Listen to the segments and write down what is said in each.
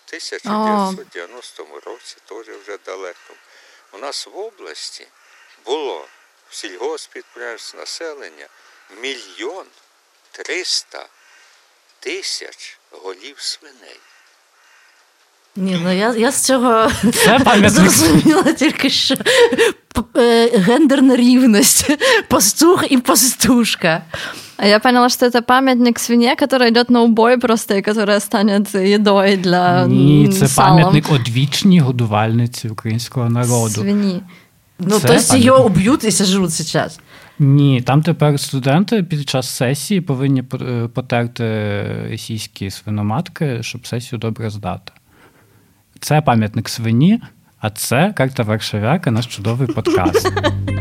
1990 році, теж вже далеко, у нас в області було в сільгоспідприємстві населення 1 300 000 голів свиней. Ні, ну я з цього зрозуміла тільки, що гендерна рівність, пастух і пастушка. А я поняла, что это памятник свине, которая идет на убой просто, и которая станет едой для Ні, це пам'ятник одвічній годувальниці українського народу. Свині. Ну, то есть її уб'ють і сожруть зараз. Ні, там тепер студенти під час сесії повинні потерти російські свиноматки, щоб сесію добре здати. Це пам'ятник свині, а це «Карта Варшавяка», наш чудовий подкаст.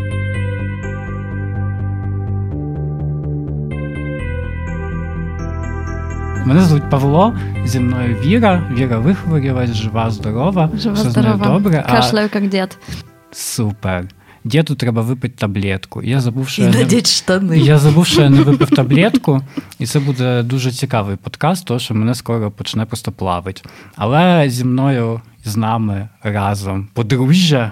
Мене звуть Павло, зі мною Віра. Віра вихворілась, жива, здорова. Жива, все здорова. з нею добре. Кашляю, як дід. Супер. Діду треба випити таблетку. Я забув, що я не випив таблетку, і це буде дуже цікавий подкаст, тому що мене скоро почне просто плавити. Але зі мною, з нами разом подружжя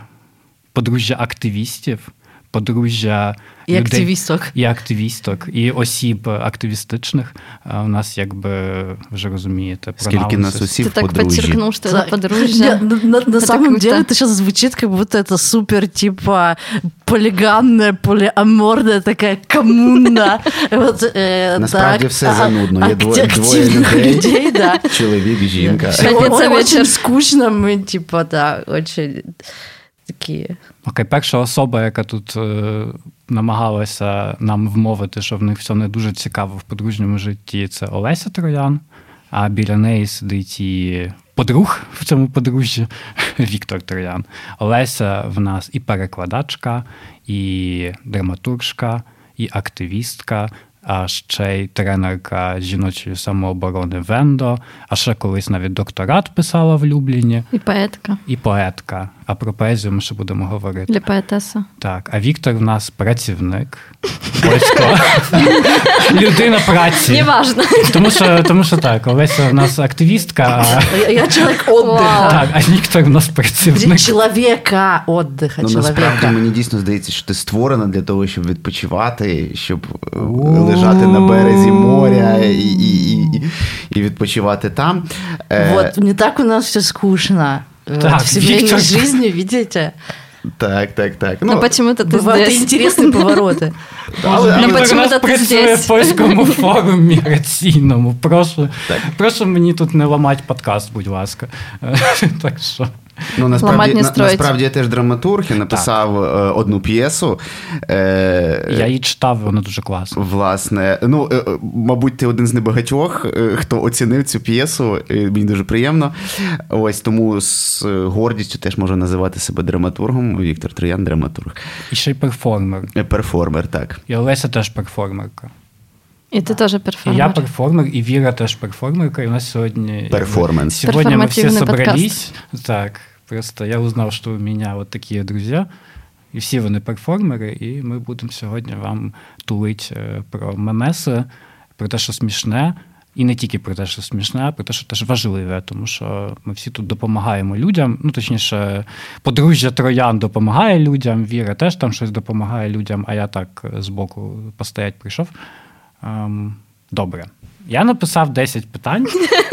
активістів, подружжя і активісток, і осіб активістичних. У нас, якби, вже розумієте, скільки нас осіб подружжя. Ты так подчеркнул, что это подружжя. На самом деле это сейчас звучит, как будто это супер, типа, полиганная, полиаморная такая коммуна. Насправді все занудно. Є двоє людей, чоловік, жінка. Очень скучно, ми, типа, да, очень... Такі. Окей, перша особа, яка тут намагалася нам вмовити, що в них все не дуже цікаво в подружньому житті, це Олеся Троян, а біля неї сидить і подруг в цьому подружжі Віктор Троян. Олеся в нас і перекладачка, і драматургка, і активістка, а ще й тренерка жіночої самооборони Вендо, а ще колись навіть докторат писала в Любліні. І поетка. А про поезію ми ще будемо говорити. Для поетеса. Так, а Віктор в нас працівник польського. Людина праці. Неважно. Тому що так, Олеся в нас активістка. Я чоловік отдиха. Так, а Віктор в нас працівник. Чоловіка отдиха. Ну, насправді, мені дійсно здається, що ти створена для того, щоб відпочивати, щоб лежати на березі моря і відпочивати там. Вот, не так у нас все скучно. Так, в семейной жизни, видите? Так. Ну, почему-то ты бывают здесь. Интересные повороты. Но почему-то ти працює в польському форумі міграційному. Прошу мені тут не ламати подкаст, будь ласка. Так що... Ну, насправді я теж драматург, я написав одну п'єсу. Я її читав, вона дуже класна. Власне, ну, мабуть, ти один з небагатьох, хто оцінив цю п'єсу, мені дуже приємно. Ось тому з гордістю теж можу називати себе драматургом. Віктор Троян – драматург. І ще й перформер. Перформер, так. І Олеся теж перформерка. І ти теж перформер. І я перформер, і Віра теж перформерка, і у нас сьогодні... Перформанс. Сегодня мы все собрались. Так, просто я узнал, что у меня вот такие друзья, і всі вони перформери, і ми будемо сьогодні вам тулити про мемеси, про те, що смішне, і не тільки про те, що смішне, а про те, що теж важливе, тому що ми всі тут допомагаємо людям, ну, точніше, подружжя Троян допомагає людям, Віра теж там щось допомагає людям, а я так збоку постоять прийшов. Добре. Я написав 10 питань.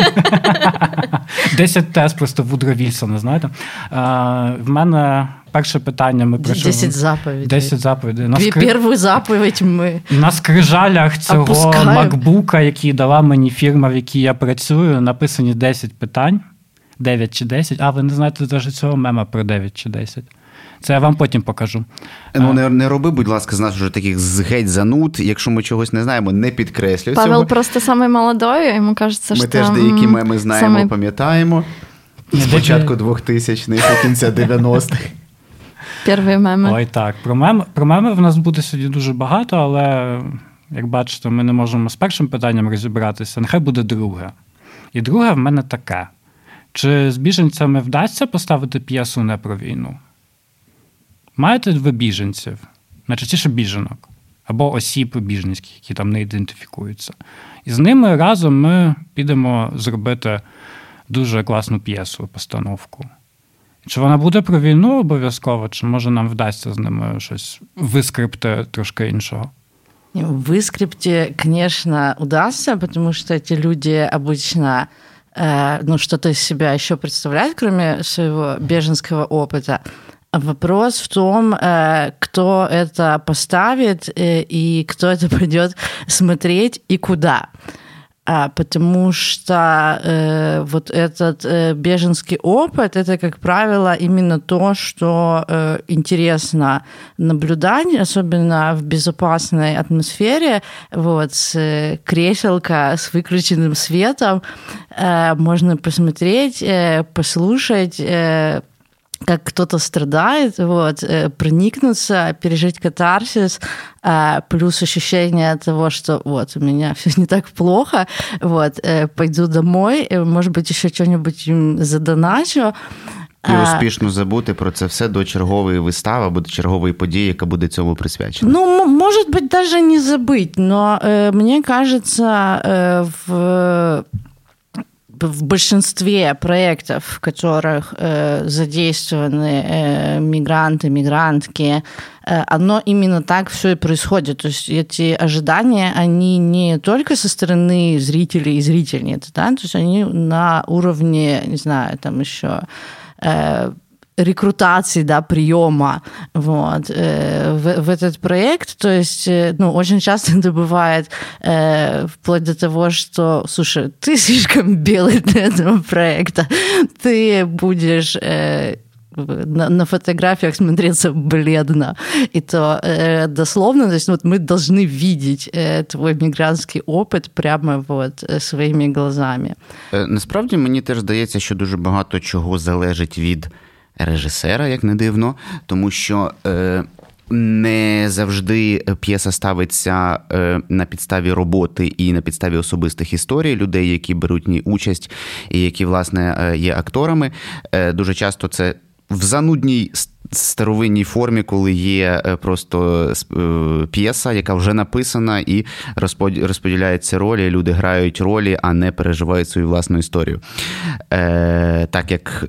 10 тез просто Вудро Вільсона, знаєте. В мене перше питання ми прийшли... 10 заповідей. 10 заповідей. Першу заповідь ми на скрижалях цього макбука, який дала мені фірма, в якій я працюю, написані 10 питань. 9 чи 10. А, ви не знаєте навіть цього мема про 9 чи 10. Це я вам потім покажу. Ну, не роби, будь ласка, з нас вже таких геть зануд. Якщо ми чогось не знаємо, не підкреслюй цього. Павел просто самий молодой, йому кажеться, що... Ми теж деякі меми знаємо, пам'ятаємо. З початку 2000-х, до кінця 90-х. Перші меми. Ой, так. Про меми в нас буде сьогодні дуже багато, але, як бачите, ми не можемо з першим питанням розібратися. Нехай буде друге. І друге в мене таке. Чи з біженцями вдасться поставити п'єсу не про війну? Маєте ви біженців, найчастіше біженок, або осіб біженських, які там не ідентифікуються. І з ними разом ми підемо зробити дуже класну п'єсу, постановку. Чи вона буде про війну обов'язково, чи може нам вдасться з ними щось вискрипти трошки іншого? В выскрипте, конечно, удастся, потому что эти люди обычно что-то из себя еще представляют, кроме своего беженского опыта. Вопрос в том, кто это поставит и кто это пойдет смотреть и куда. Потому что вот этот беженский опыт, это, как правило, именно то, что интересно наблюдать, особенно в безопасной атмосфере, вот, с креселка, с выключенным светом. Можно посмотреть, послушать, как кто-то страдает, вот, проникнуться, пережить катарсис, плюс ощущение того, что вот, у меня все не так плохо, вот, пойду домой, может быть, еще что-нибудь им задоначу. І успішно забути про це все до чергової вистави або до чергової події, яка буде цьому присвячена. Ну, может быть, даже не забыть, но мне кажется, в большинстве проектов, в которых задействованы мигранты, мигрантки, оно именно так все и происходит. То есть эти ожидания, они не только со стороны зрителей и зрительниц, да, то есть они на уровне, не знаю, там еще рекрутации, да, приема вот, в этот проект. То есть, очень часто это бывает вплоть до того, что, слушай, ты слишком белый для этого проекта, ты будешь на фотографиях смотреться бледно. И то дословно, то есть вот мы должны видеть твой мігрантський опит прямо вот своїми глазами. Насправді, мені теж здається, що дуже багато чого залежить від режисера, як не дивно, тому що не завжди п'єса ставиться на підставі роботи і на підставі особистих історій людей, які беруть в ній участь і які, власне, є акторами. Дуже часто це в занудній старовинній формі, коли є просто п'єса, яка вже написана, і розподіляються ролі, люди грають ролі, а не переживають свою власну історію. Так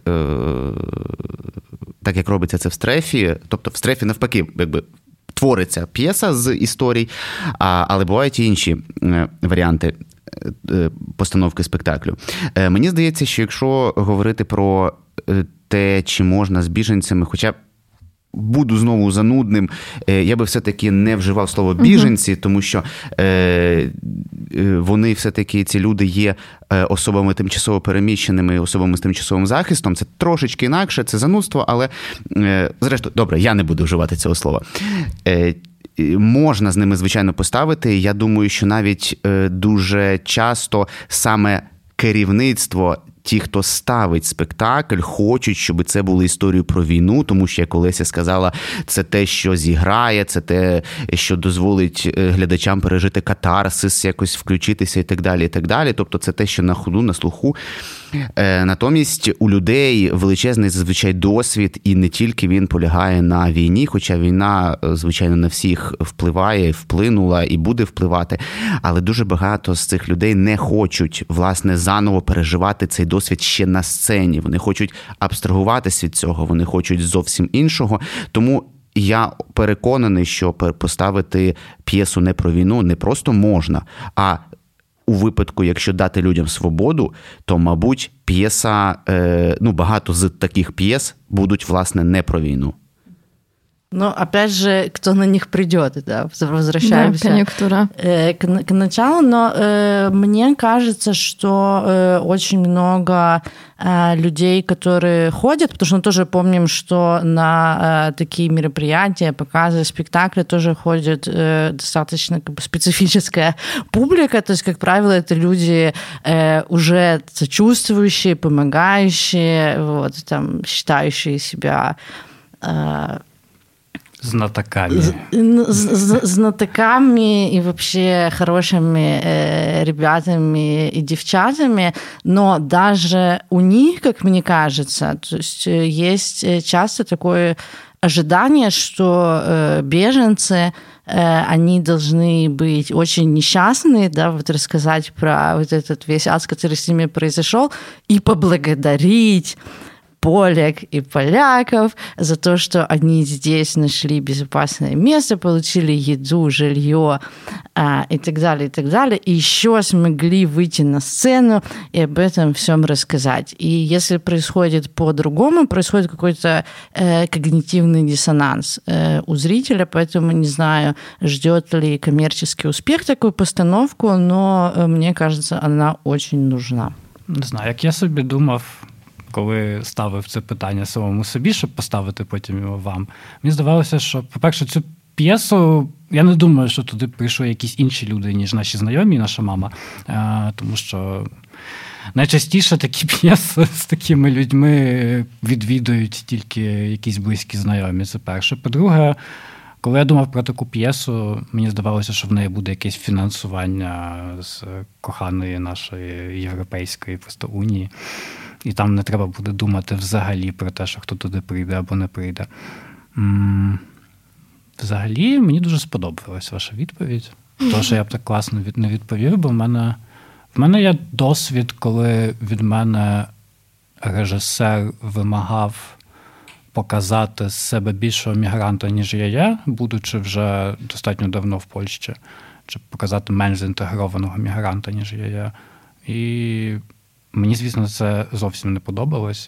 як робиться це в Стрефі, тобто в Стрефі навпаки, якби твориться п'єса з історій, але бувають і інші варіанти постановки спектаклю. Мені здається, що якщо говорити про те, чи можна з біженцями, хоча буду знову занудним, я би все-таки не вживав слово «біженці», тому що вони все-таки, ці люди є особами тимчасово переміщеними, особами з тимчасовим захистом. Це трошечки інакше, це занудство, але, зрештою, добре, я не буду вживати цього слова. Можна з ними, звичайно, поставити. Я думаю, що навіть дуже часто саме керівництво, ті, хто ставить спектакль, хочуть, щоб це було історією про війну, тому що, як Олеся сказала, це те, що зіграє, це те, що дозволить глядачам пережити катарсис, якось включитися і так далі, і так далі. Тобто це те, що на ходу, на слуху. Натомість у людей величезний зазвичай досвід, і не тільки він полягає на війні, хоча війна, звичайно, на всіх впливає, вплинула і буде впливати, але дуже багато з цих людей не хочуть, власне, заново переживати цей досвід ще на сцені. Вони хочуть абстрагуватись від цього, вони хочуть зовсім іншого. Тому я переконаний, що поставити п'єсу не про війну не просто можна, а у випадку, якщо дати людям свободу, то, мабуть, п'єса, багато з таких п'єс будуть, власне, не про війну. Опять же, кто на них придет, да, возвращаемся конъюнктура. К началу, но мне кажется, что очень много людей, которые ходят, потому что мы тоже помним, что на такие мероприятия, показы, спектакли тоже ходит достаточно специфическая публика, то есть, как правило, это люди уже сочувствующие, помогающие, вот, там, считающие себя знатоками и вообще хорошими ребятами и девчатами, но даже у них, как мне кажется, то есть часто такое ожидание, что беженцы, они должны быть очень несчастны, да, вот рассказать про вот этот весь ад, который с ними произошел, и поблагодарить полек и поляков за то, что они здесь нашли безопасное место, получили еду, жилье и так далее, и так далее. И еще смогли выйти на сцену и об этом всем рассказать. И если происходит по-другому, происходит какой-то когнитивный диссонанс у зрителя, поэтому не знаю, ждет ли коммерческий успех такую постановку, но мне кажется, она очень нужна. Не знаю, як я собі думав, коли ставив це питання самому собі, щоб поставити потім його вам, мені здавалося, що, по-перше, цю п'єсу, я не думаю, що туди прийшли якісь інші люди, ніж наші знайомі, наша мама, тому що найчастіше такі п'єси з такими людьми відвідують тільки якісь близькі знайомі, це перше. По-друге, коли я думав про таку п'єсу, мені здавалося, що в неї буде якесь фінансування з коханої нашої європейської просто унії. І там не треба буде думати взагалі про те, що хто туди прийде або не прийде. Взагалі, мені дуже сподобалась ваша відповідь. Тому що я б так класно не відповів, бо в мене є досвід, коли від мене режисер вимагав показати з себе більшого мігранта, ніж я є, будучи вже достатньо давно в Польщі, чи показати менш заінтегрованого мігранта, ніж я є. І мені, звісно, це зовсім не подобалось.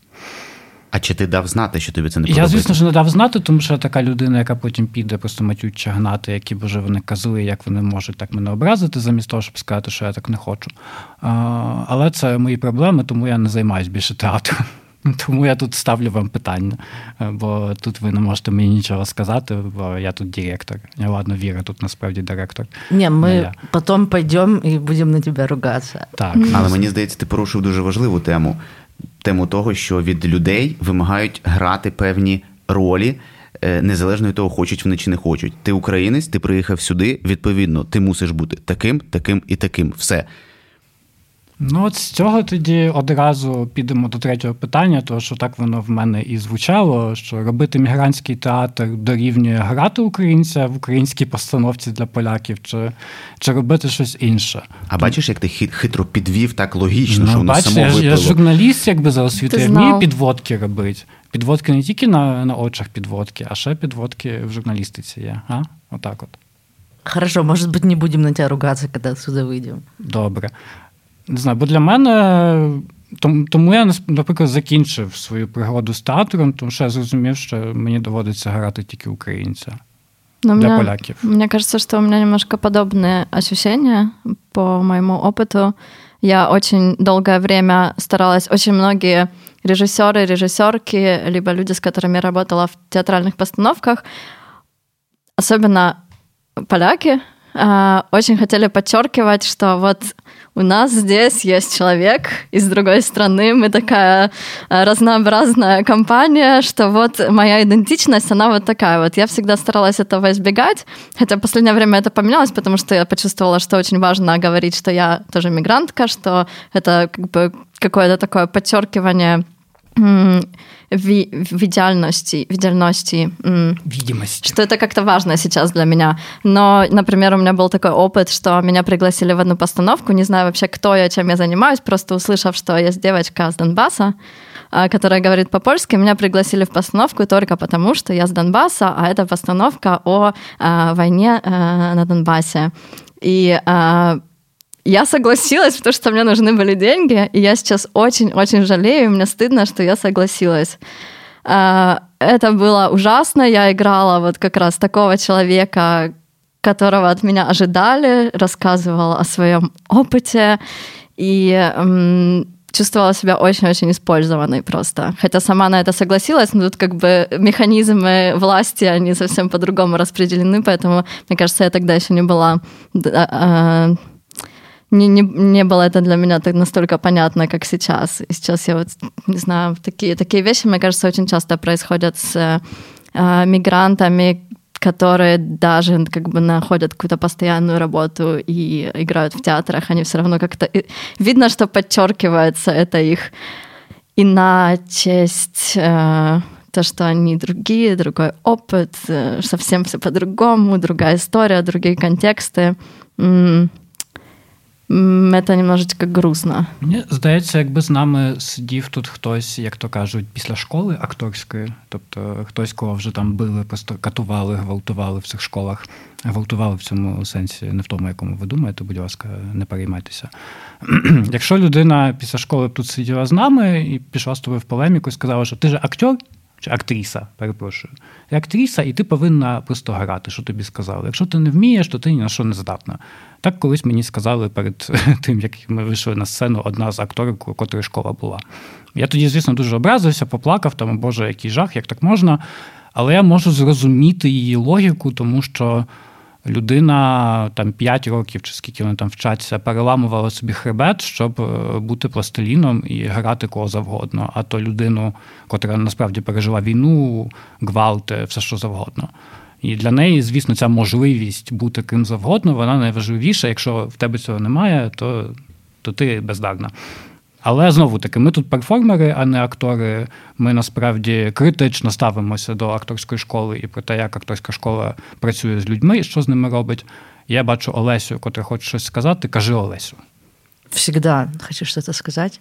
А чи ти дав знати, що тобі це не подобається? Я, звісно ж, не дав знати, тому що я така людина, яка потім піде просто матюче гнати, які б вже вони казали, як вони можуть так мене образити, замість того, щоб сказати, що я так не хочу. Але це мої проблеми, тому я не займаюся більше театром. Тому я тут ставлю вам питання, бо тут ви не можете мені нічого сказати, бо я тут директор. Я, ладно, Віра тут насправді директор. Ні, ми потім підемо і будемо на тебе ругатися. Так. Але мені здається, ти порушив дуже важливу тему. Тему того, що від людей вимагають грати певні ролі, незалежно від того, хочуть вони чи не хочуть. Ти українець, ти приїхав сюди, відповідно, ти мусиш бути таким, таким і таким. Все. Ну, от з цього тоді одразу підемо до третього питання, тому що так воно в мене і звучало, що робити мігрантський театр дорівнює грати українця в українській постановці для поляків, чи робити щось інше. А бачиш, як ти хитро підвів так логічно, що воно бачиш, само виплило? Я журналіст, якби за освітою, я вмію підводки робити. Підводки не тільки на очах підводки, а ще підводки в журналістиці є. Отак от. Хорошо, може бути, не будемо на тебе ругатися, коли отсюда вийдемо. Добре. Не знаю, бо для мене, тому я, наприклад, закінчив свою пригоду з театром, тому що я зрозумів, що мені доводиться грати тільки українця для поляків. Мне кажется, что у меня немножко подобные ощущения по моему опыту. Я очень долгое время старалась, очень многие режиссеры, режиссерки, либо люди, с которыми я работала в театральных постановках, особенно поляки, очень хотели подчеркивать, что вот у нас здесь есть человек из другой страны, мы такая разнообразная компания, что вот моя идентичность, она вот такая вот. Я всегда старалась этого избегать, хотя в последнее время это поменялось, потому что я почувствовала, что очень важно говорить, что я тоже мигрантка, что это как бы какое-то такое подчеркивание видимости, что это как-то важно сейчас для меня. Но, например, у меня был такой опыт, что меня пригласили в одну постановку, не знаю вообще, кто я, чем я занимаюсь, просто услышав, что есть девочка с Донбасса, которая говорит по-польски, меня пригласили в постановку только потому, что я с Донбасса, а это постановка о войне на Донбассе. И я согласилась, потому что мне нужны были деньги, и я сейчас очень-очень жалею, и мне стыдно, что я согласилась. Это было ужасно, я играла вот как раз такого человека, которого от меня ожидали, рассказывала о своем опыте, и чувствовала себя очень-очень использованной просто. Хотя сама на это согласилась, но тут как бы механизмы власти, они совсем по-другому распределены, поэтому, мне кажется, я тогда еще не была... Не было это для меня так настолько понятно, как сейчас. И сейчас я вот, не знаю, такие вещи, мне кажется, очень часто происходят с мигрантами, которые даже как бы находят какую-то постоянную работу и играют в театрах, они все равно как-то... Видно, что подчеркивается это их иначесть, то, то, что они другие, другой опыт, совсем все по-другому, другая история, другие контексты. Это немножечко грустно. Мені здається, якби з нами сидів тут хтось, як то кажуть, після школи акторської, тобто хтось, кого вже там били, просто катували, гвалтували в цих школах. Гвалтували в цьому сенсі, не в тому, якому ви думаєте, будь ласка, не переймайтеся. Якщо людина після школи тут сиділа з нами і пішла з тобою в полеміку і сказала, що ти же актер, чи актріса, перепрошую. Ти актриса, і ти повинна просто грати, що тобі сказали. Якщо ти не вмієш, то ти ні на що не здатна. Так колись мені сказали перед тим, як ми вийшли на сцену, одна з акторів, у котрої школа була. Я тоді, звісно, дуже образився, поплакав, там, боже, який жах, як так можна. Але я можу зрозуміти її логіку, тому що людина там 5 років, чи скільки вони там вчаться, переламувала собі хребет, щоб бути пластиліном і грати кого завгодно. А то людину, котра насправді пережила війну, гвалти, все що завгодно. І для неї, звісно, ця можливість бути ким завгодно, вона найважливіша. Якщо в тебе цього немає, то ти бездарна. Але, знову-таки, ми тут перформери, а не актори. Ми, насправді, критично ставимося до акторської школи і про те, як акторська школа працює з людьми і що з ними робить. Я бачу Олесю, котра хоче щось сказати. Кажи, Олесю. Всегда хочу что-то сказать.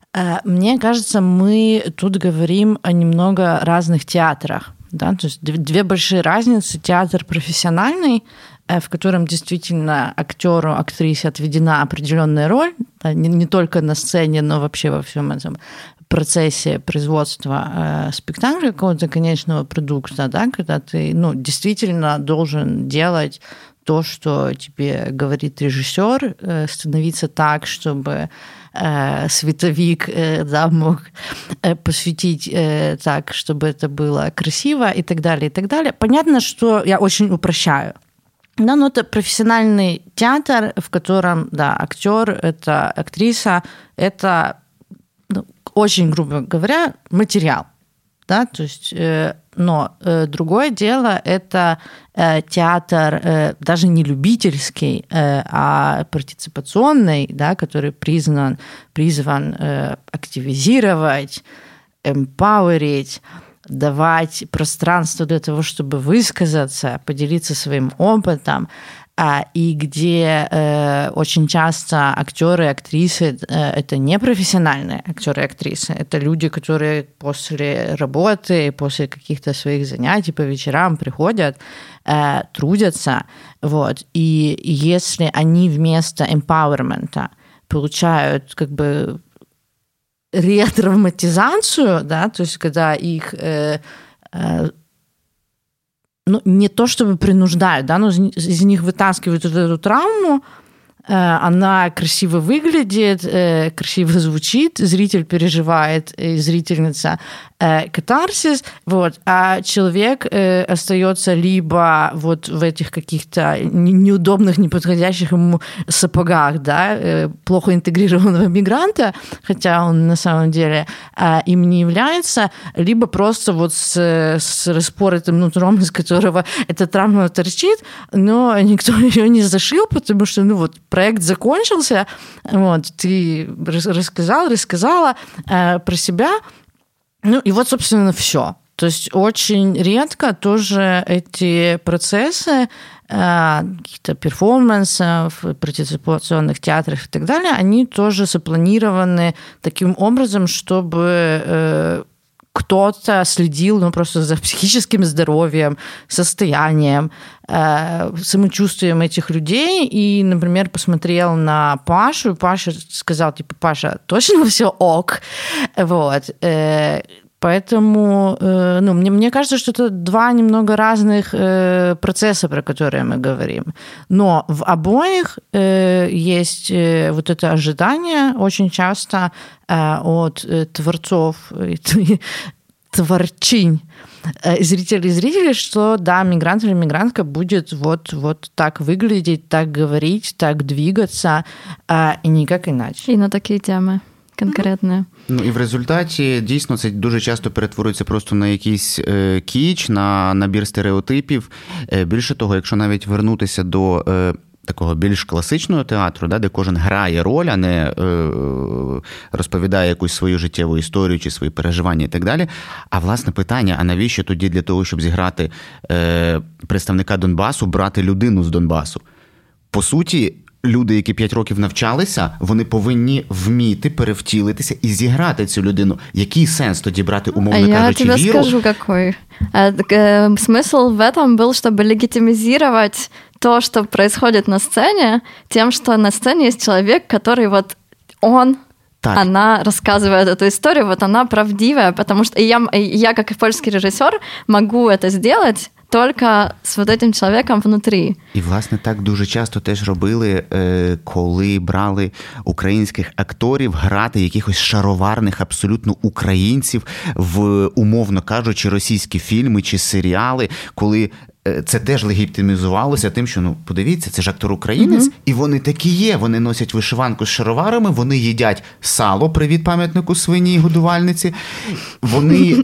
Мне кажется, мы тут говорим о немного разных театрах. Да? То есть две большие разницы. Театр профессиональный, в котором действительно актеру, актрисе отведена определенная роль, да, не только на сцене, но вообще во всем этом процессе производства спектакля, какого-то конечного продукта, да, когда ты действительно должен делать то, что тебе говорит режиссер, становиться так, чтобы световик мог посветить так, чтобы это было красиво и так далее, и так далее. Понятно, что я очень упрощаю. Да, но это профессиональный театр, в котором, да, актер, это актриса, это, очень грубо говоря, материал. Да, то есть, но другое дело – это театр даже не любительский, а партиципационный, да, который призван активизировать, эмпауэрить, давать пространство для того, чтобы высказаться, поделиться своим опытом, и где очень часто актеры и актрисы – это не профессиональные актеры и актрисы, это люди, которые после работы, после каких-то своих занятий по вечерам приходят, трудятся, вот, и если они вместо эмпауэрмента получают как бы ретравматизацию, да, то есть когда их не то чтобы принуждают, да, но из них вытаскивают вот эту травму, она красиво выглядит, красиво звучит, зритель переживает, и зрительница катарсис, вот, а человек остается либо вот в этих каких-то неудобных, неподходящих ему сапогах, да, плохо интегрированного мигранта, хотя он на самом деле им не является, либо просто вот с распоротым нутром, из которого эта травма торчит, но никто ее не зашил, потому что, проект закончился, вот, ты рассказала про себя, и вот, собственно, все. То есть очень редко тоже эти процессы каких-то перформансов, партиципационных театров и так далее, они тоже запланированы таким образом, чтобы кто-то следил просто за психическим здоровьем, состоянием, самочувствием этих людей и, например, посмотрел на Пашу, и Паша сказал, Паша, точно все ок? Вот. Поэтому, мне кажется, что это два немного разных процесса, про которые мы говорим. Но в обоих есть вот это ожидание очень часто от творцов, творчинь, зрителей и зрителей, что, да, мигрант или мигрантка будет вот так выглядеть, так говорить, так двигаться, и никак иначе. И на такие темы. Конкретне. І в результаті, дійсно, це дуже часто перетворюється просто на якийсь кіч, на набір стереотипів. Більше того, якщо навіть вернутися до такого більш класичного театру, де кожен грає роль, а не розповідає якусь свою життєву історію чи свої переживання і так далі. А власне питання, а навіщо тоді для того, щоб зіграти представника Донбасу, брати людину з Донбасу? По суті, люди, які 5 років навчалися, вони повинні вміти перевтілитися і зіграти цю людину. Який сенс тоді брати, умовно кажучи, віру? Я тебе скажу, какой. Смысл в этом был, чтобы легитимизировать то, что происходит на сцене, тем, что на сцене есть человек, который вот он, так. Она рассказывает эту историю, вот она правдивая, потому что я как и польский режиссер, могу это сделать тільки з вот этим чоловіком внутрі. І, власне, так дуже часто теж робили, коли брали українських акторів грати якихось шароварних абсолютно українців в, умовно кажучи, російські фільми чи серіали, коли це теж легітимізувалося тим, що, подивіться, це ж актор-українець, і вони такі є, вони носять вишиванку з шароварами, вони їдять сало, привіт пам'ятнику свині і годувальниці, вони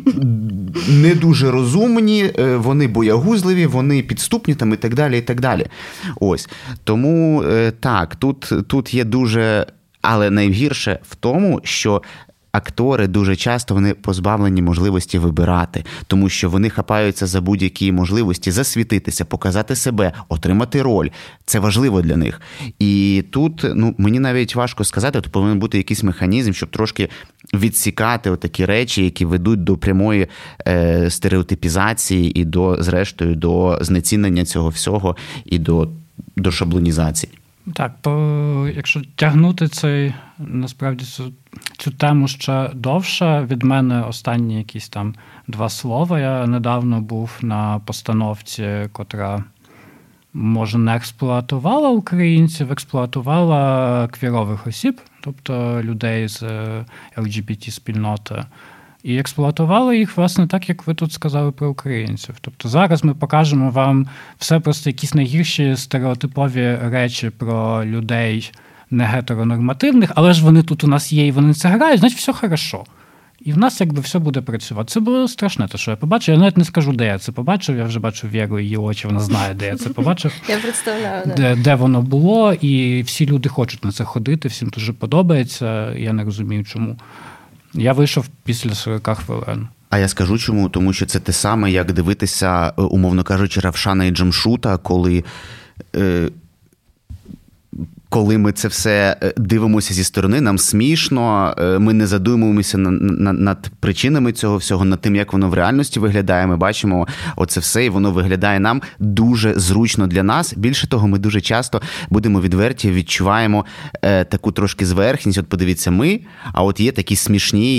не дуже розумні, вони боягузливі, вони підступні там і так далі, і так далі. Ось. Тому, так, тут є дуже, але найгірше в тому, що актори дуже часто вони позбавлені можливості вибирати, тому що вони хапаються за будь-які можливості засвітитися, показати себе, отримати роль. Це важливо для них. І тут, мені навіть важко сказати, тут повинен бути якийсь механізм, щоб трошки відсікати отакі речі, які ведуть до прямої стереотипізації і зрештою, до знецінення цього всього і до шаблонізації. Так, якщо тягнути насправді цю тему ще довше, від мене останні якісь там 2 слова. Я недавно був на постановці, котра, може, не експлуатувала українців, експлуатувала квірових осіб, тобто людей з LGBT-спільноти. І експлуатували їх, власне, так, як ви тут сказали про українців. Тобто зараз ми покажемо вам все просто якісь найгірші стереотипові речі про людей негетеронормативних, але ж вони тут у нас є і вони це грають, значить все хорошо. І в нас якби все буде працювати. Це було страшне, те, що я побачив. Я навіть не скажу, де я це побачив. Я вже бачу Віру, її очі, вона знає, де я це побачив. Я представляю, де воно було, і всі люди хочуть на це ходити, всім дуже подобається. Я не розумію, чому. Я вийшов після 40 хвилин. А я скажу чому, тому що це те саме, як дивитися, умовно кажучи, Равшана і Джамшута, коли ми це все дивимося зі сторони, нам смішно, ми не задумуємося над причинами цього всього, над тим, як воно в реальності виглядає. Ми бачимо оце все, і воно виглядає нам дуже зручно для нас. Більше того, ми дуже часто, будемо відверті, відчуваємо таку трошки зверхність. От подивіться, ми, а от є такі смішні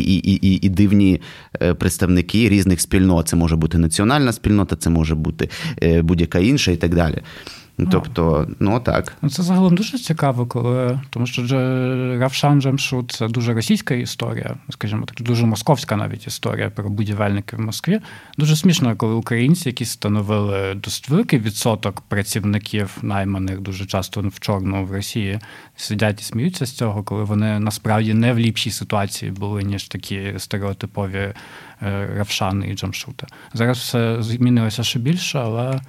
і дивні представники різних спільнот. Це може бути національна спільнота, це може бути будь-яка інша і так далі. Тобто, так. Це загалом дуже цікаво, тому що Равшан Джамшут – це дуже російська історія, скажімо так, дуже московська навіть історія про будівельників в Москві. Дуже смішно, коли українці, які становили досить великий відсоток працівників найманих дуже часто в чорному в Росії, сидять і сміються з цього, коли вони насправді не в ліпшій ситуації були, ніж такі стереотипові Равшани і Джамшути. Зараз все змінилося ще більше,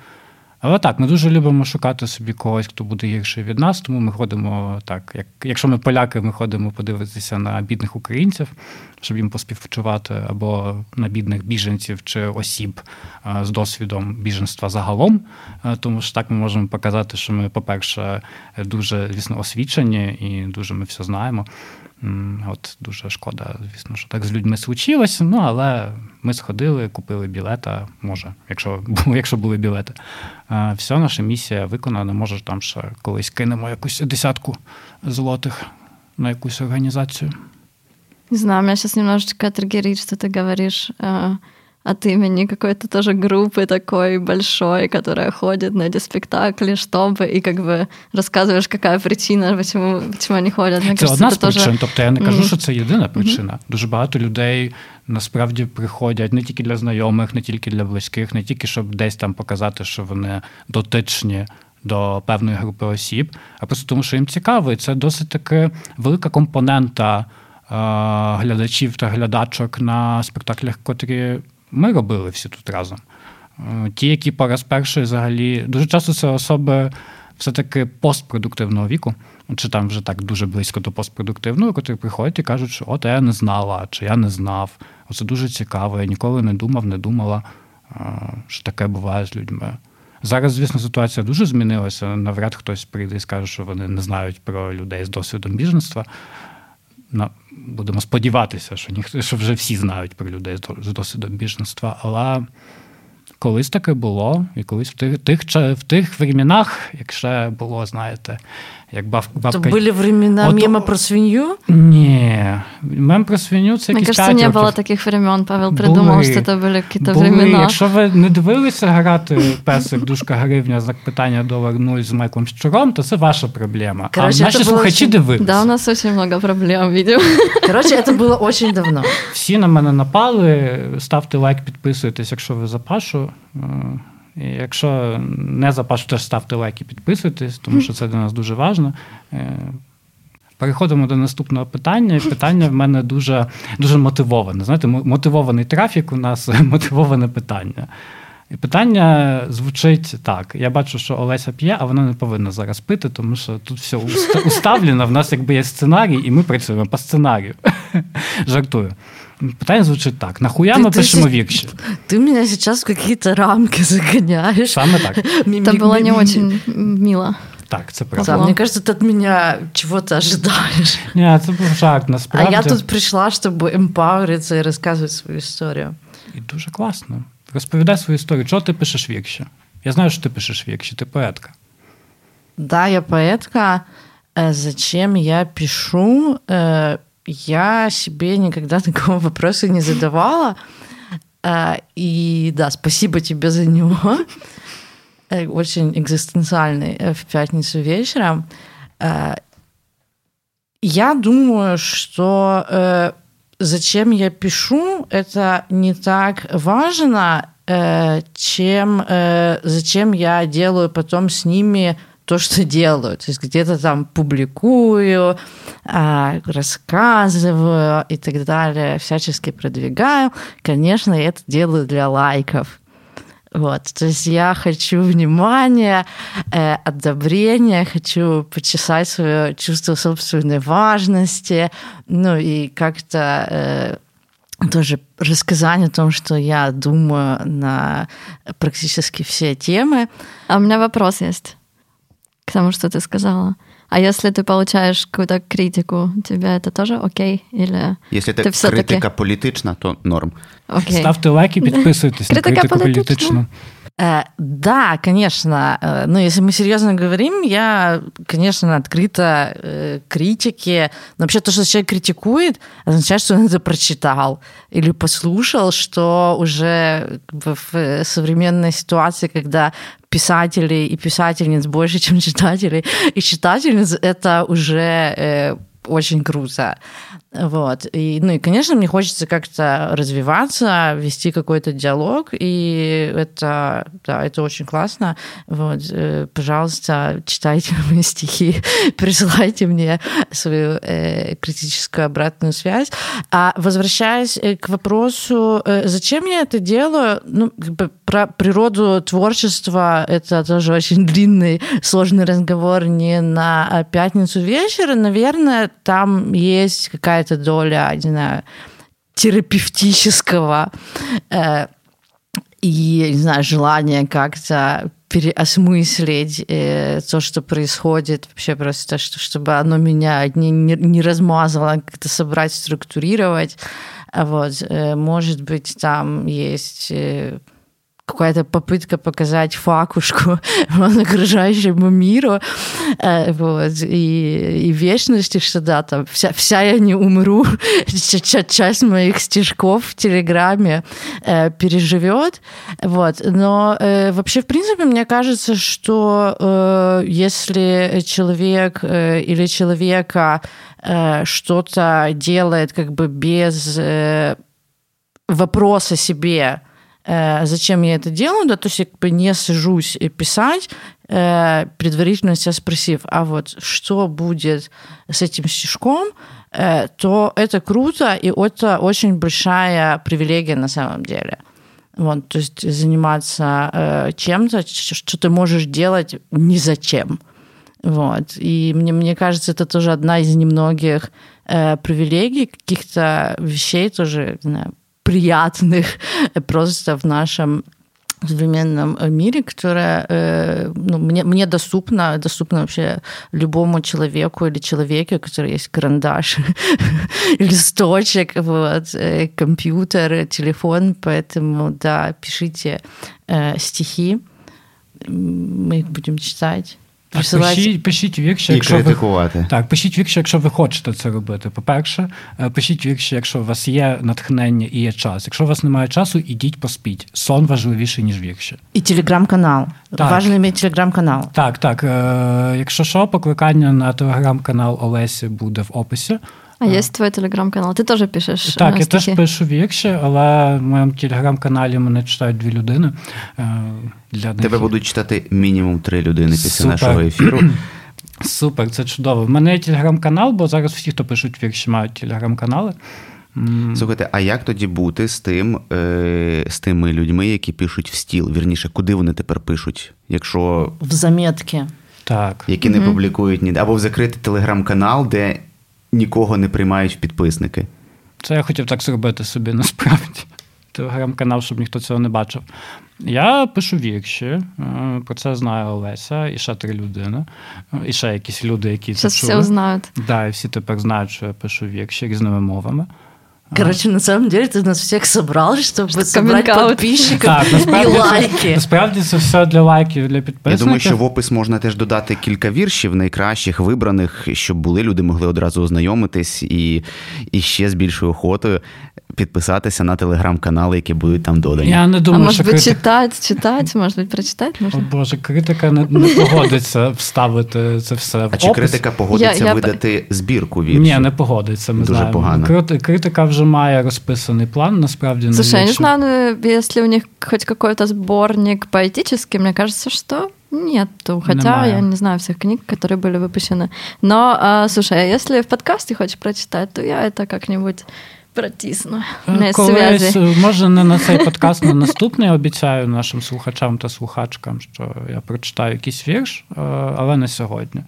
але так, ми дуже любимо шукати собі когось, хто буде гірший від нас, тому ми ходимо так, якщо ми поляки, ми ходимо подивитися на бідних українців, щоб їм поспівчувати, або на бідних біженців чи осіб з досвідом біженства загалом, тому що так ми можемо показати, що ми, по-перше, дуже, звісно, освічені і дуже ми все знаємо. От дуже шкода, звісно, що так з людьми случилось, але ми сходили, купили білета, може, якщо були білети. Все, наша місія виконана, може, там ще колись кинемо якусь 10 злотих на якусь організацію. Не знаю, меня сейчас немножечко триггерит, что ты говоришь от имени какой-то тоже группы такой большой, которая ходит на эти спектакли, чтобы, и как бы рассказываешь, какая причина, почему они ходять. Це одна з причин, тобто я не кажу, що це єдина причина. Дуже багато людей насправді приходять не тільки для знайомих, не тільки для близьких, не тільки, щоб десь там показати, що вони дотичні до певної групи осіб, а просто тому, що їм цікаво. І це досить таки велика компонента глядачів та глядачок на спектаклях, котрі ми робили всі тут разом. Ті, які по раз перший взагалі... Дуже часто це особи все-таки постпродуктивного віку, чи там вже так дуже близько до постпродуктивного, котрі приходять і кажуть, що от я не знала, чи я не знав, оце дуже цікаво, я ніколи не думав, не думала, що таке буває з людьми. Зараз, звісно, ситуація дуже змінилася, навряд хтось прийде і скаже, що вони не знають про людей з досвідом біженства. Будемо сподіватися, що вже всі знають про людей з досвідом біженства, але колись таке було, і колись в тих временах, якщо було, знаєте, як бабка... То були времена мема про свинью? Ні, мем про свинью – це якісь 5 років. Мне кажется, не було таких времен. Павел придумав, що це були якісь времена. Якщо ви не дивилися грати «Песик, дужка, гривня, знак питання, $0 з Майклом Щуром, то це ваша проблема. Короче, а наші слухачі дивилися. Да, у нас дуже багато проблем, видимо. Короче, це було дуже давно. Всі на мене напали, ставте лайк, підписуйтесь, якщо ви за Пашу. І якщо не за Пашу, теж ставте лайк і підписуйтесь, тому що це для нас дуже важливо. Переходимо до наступного питання. І питання в мене дуже, дуже мотивоване. Знаєте, мотивований трафік у нас, мотивоване питання. І питання звучить так. Я бачу, що Олеся п'є, а вона не повинна зараз пити, тому що тут все уставлено, в нас якби є сценарій, і ми працюємо по сценарію. Жартую. Питання звучить так. Нахуя ми пишемо вірші? Ты меня сейчас в какие-то рамки загоняешь. Саме так. Это было не очень мило. Так, це правда. Мне кажется, ты от меня чего-то ожидаешь. Ні, це був жарт, насправді. А я тут прийшла, щоб емпаверитися і розказувати свою історію. І дуже класно. Розповідай свою історію. Чого ти пишеш вірші? Я знаю, що ти пишеш вірші, ти поетка. Да, я поэтка. Зачем я пишу? Я себе никогда такого вопроса не задавала. И да, спасибо тебе за него. Очень экзистенциальный в пятницу вечером. Я думаю, что зачем я пишу, это не так важно, чем зачем я делаю потом с ними то, что делаю. То есть где-то там публикую, рассказываю и так далее, всячески продвигаю. Конечно, я это делаю для лайков. Вот. То есть я хочу внимания, одобрения, хочу почесать свое чувство собственной важности, ну и как-то тоже рассказать о том, что я думаю на практически все темы. А у меня вопрос есть к тому, что ты сказала. А если ты получаешь какую-то критику, тебе это тоже окей? Или если ты это критика політична, то норм. Окей. Ставте лайк и подписывайтесь на критику політичну. Да, конечно. Ну, если мы серьезно говорим, я, конечно, открыта критике. Но вообще то, что человек критикует, означает, что он это прочитал или послушал, что уже в современной ситуации, когда писателей и писательниц больше, чем читателей и читательниц, это уже очень круто. Вот. И, ну и, конечно, мне хочется как-то развиваться, вести какой-то диалог, и это, да, это очень классно. Вот. Пожалуйста, читайте мои стихи, присылайте мне свою критическую обратную связь. А возвращаясь к вопросу, зачем я это делаю, ну, как бы про природу творчества это тоже очень длинный, сложный разговор не на пятницу вечера. Наверное, там есть какая-то доля, не знаю, терапевтического и, не знаю, желания как-то переосмыслить то, что происходит, вообще просто, чтобы оно меня не размазывало, как-то собрать, структурировать. Вот. Может быть, там есть какая-то попытка показать факушку окружающему миру, вот, и вечности, что да, там вся я не умру, часть моих стишков в Телеграме переживет, вот, но вообще, в принципе, мне кажется, что если человек или человека что-то делает как бы без вопроса себе, зачем я это делаю, да, то есть я как бы не сажусь писать, предварительно себя спросив, а вот что будет с этим стишком, то это круто, и это очень большая привилегия на самом деле. Вот, то есть заниматься чем-то, что ты можешь делать ни зачем. Вот. И мне кажется, это тоже одна из немногих привилегий, каких-то вещей тоже, не знаю, приятных просто в нашем современном мире, которая мне доступна вообще любому человеку или человеке, у которого есть карандаш, листочек, вот, компьютер, телефон. Поэтому, да, пишите стихи, мы их будем читать. Пишіть вірші, і критикувати. Так, пишіть вірші, якщо ви хочете це робити. По-перше, пишіть вірші, якщо у вас є натхнення і є час. Якщо у вас немає часу, ідіть поспіть. Сон важливіший, ніж вірші. І телеграм-канал. Так. Важливо мати телеграм-канал. Так. Якщо що, покликання на телеграм-канал Олесі буде в описі. А є твій телеграм-канал? Ти теж пишеш стихи? Так, я теж пишу вірші, але в моєму телеграм-каналі мене читають 2 людини. Тебе будуть читати мінімум 3 людини після нашого ефіру. Супер, це чудово. В мене є телеграм-канал, бо зараз всі, хто пишуть вірші, мають телеграм-канали. Слухайте, а як тоді бути з тими людьми, які пишуть в стіл? Вірніше, куди вони тепер пишуть? Якщо... В заметки. Так. Які не публікують ніде. Або в закритий телеграм-канал, де нікого не приймають в підписники. Це я хотів так зробити собі, насправді. Телеграм-канал, щоб ніхто цього не бачив. Я пишу вірші, про це знає Олеся, і ще 3 людини, і ще якісь люди, які це чули. Сейчас все знають. Да, і всі тепер знають, що я пишу вірші різними мовами. Короче, на самом деле ты нас всех собрал, чтобы собрать подписчиков і лайки. Насправді це все для лайків, для підписників. Я думаю, що в опис можна теж додати кілька віршів, найкращих, вибраних, щоб були, люди могли одразу ознайомитись і ще з більшою охотою підписатися на телеграм-канали, які будуть там додані. Я не думаю, може бути читати, може бути прочитати можна? О Боже, критика не погодиться вставити це все в опис. А чи критика погодиться видати збірку віршів? Ні, не погодиться, ми дуже знаємо. Погано. Критика вже має розписаний план, насправді. Слушай, я не знаю, если у них хоть какой-то сборник поэтический, мне кажется, что нету. Хотя я не знаю всех книг, которые были выпущены. Но, слушай, а если в подкасте хочешь прочитать, то я это как-нибудь протисну. У мене зв'язі. Може, не на цей подкаст, на наступний, обіцяю нашим слухачам та слухачкам, що я прочитаю якийсь вірш, але не сьогодні.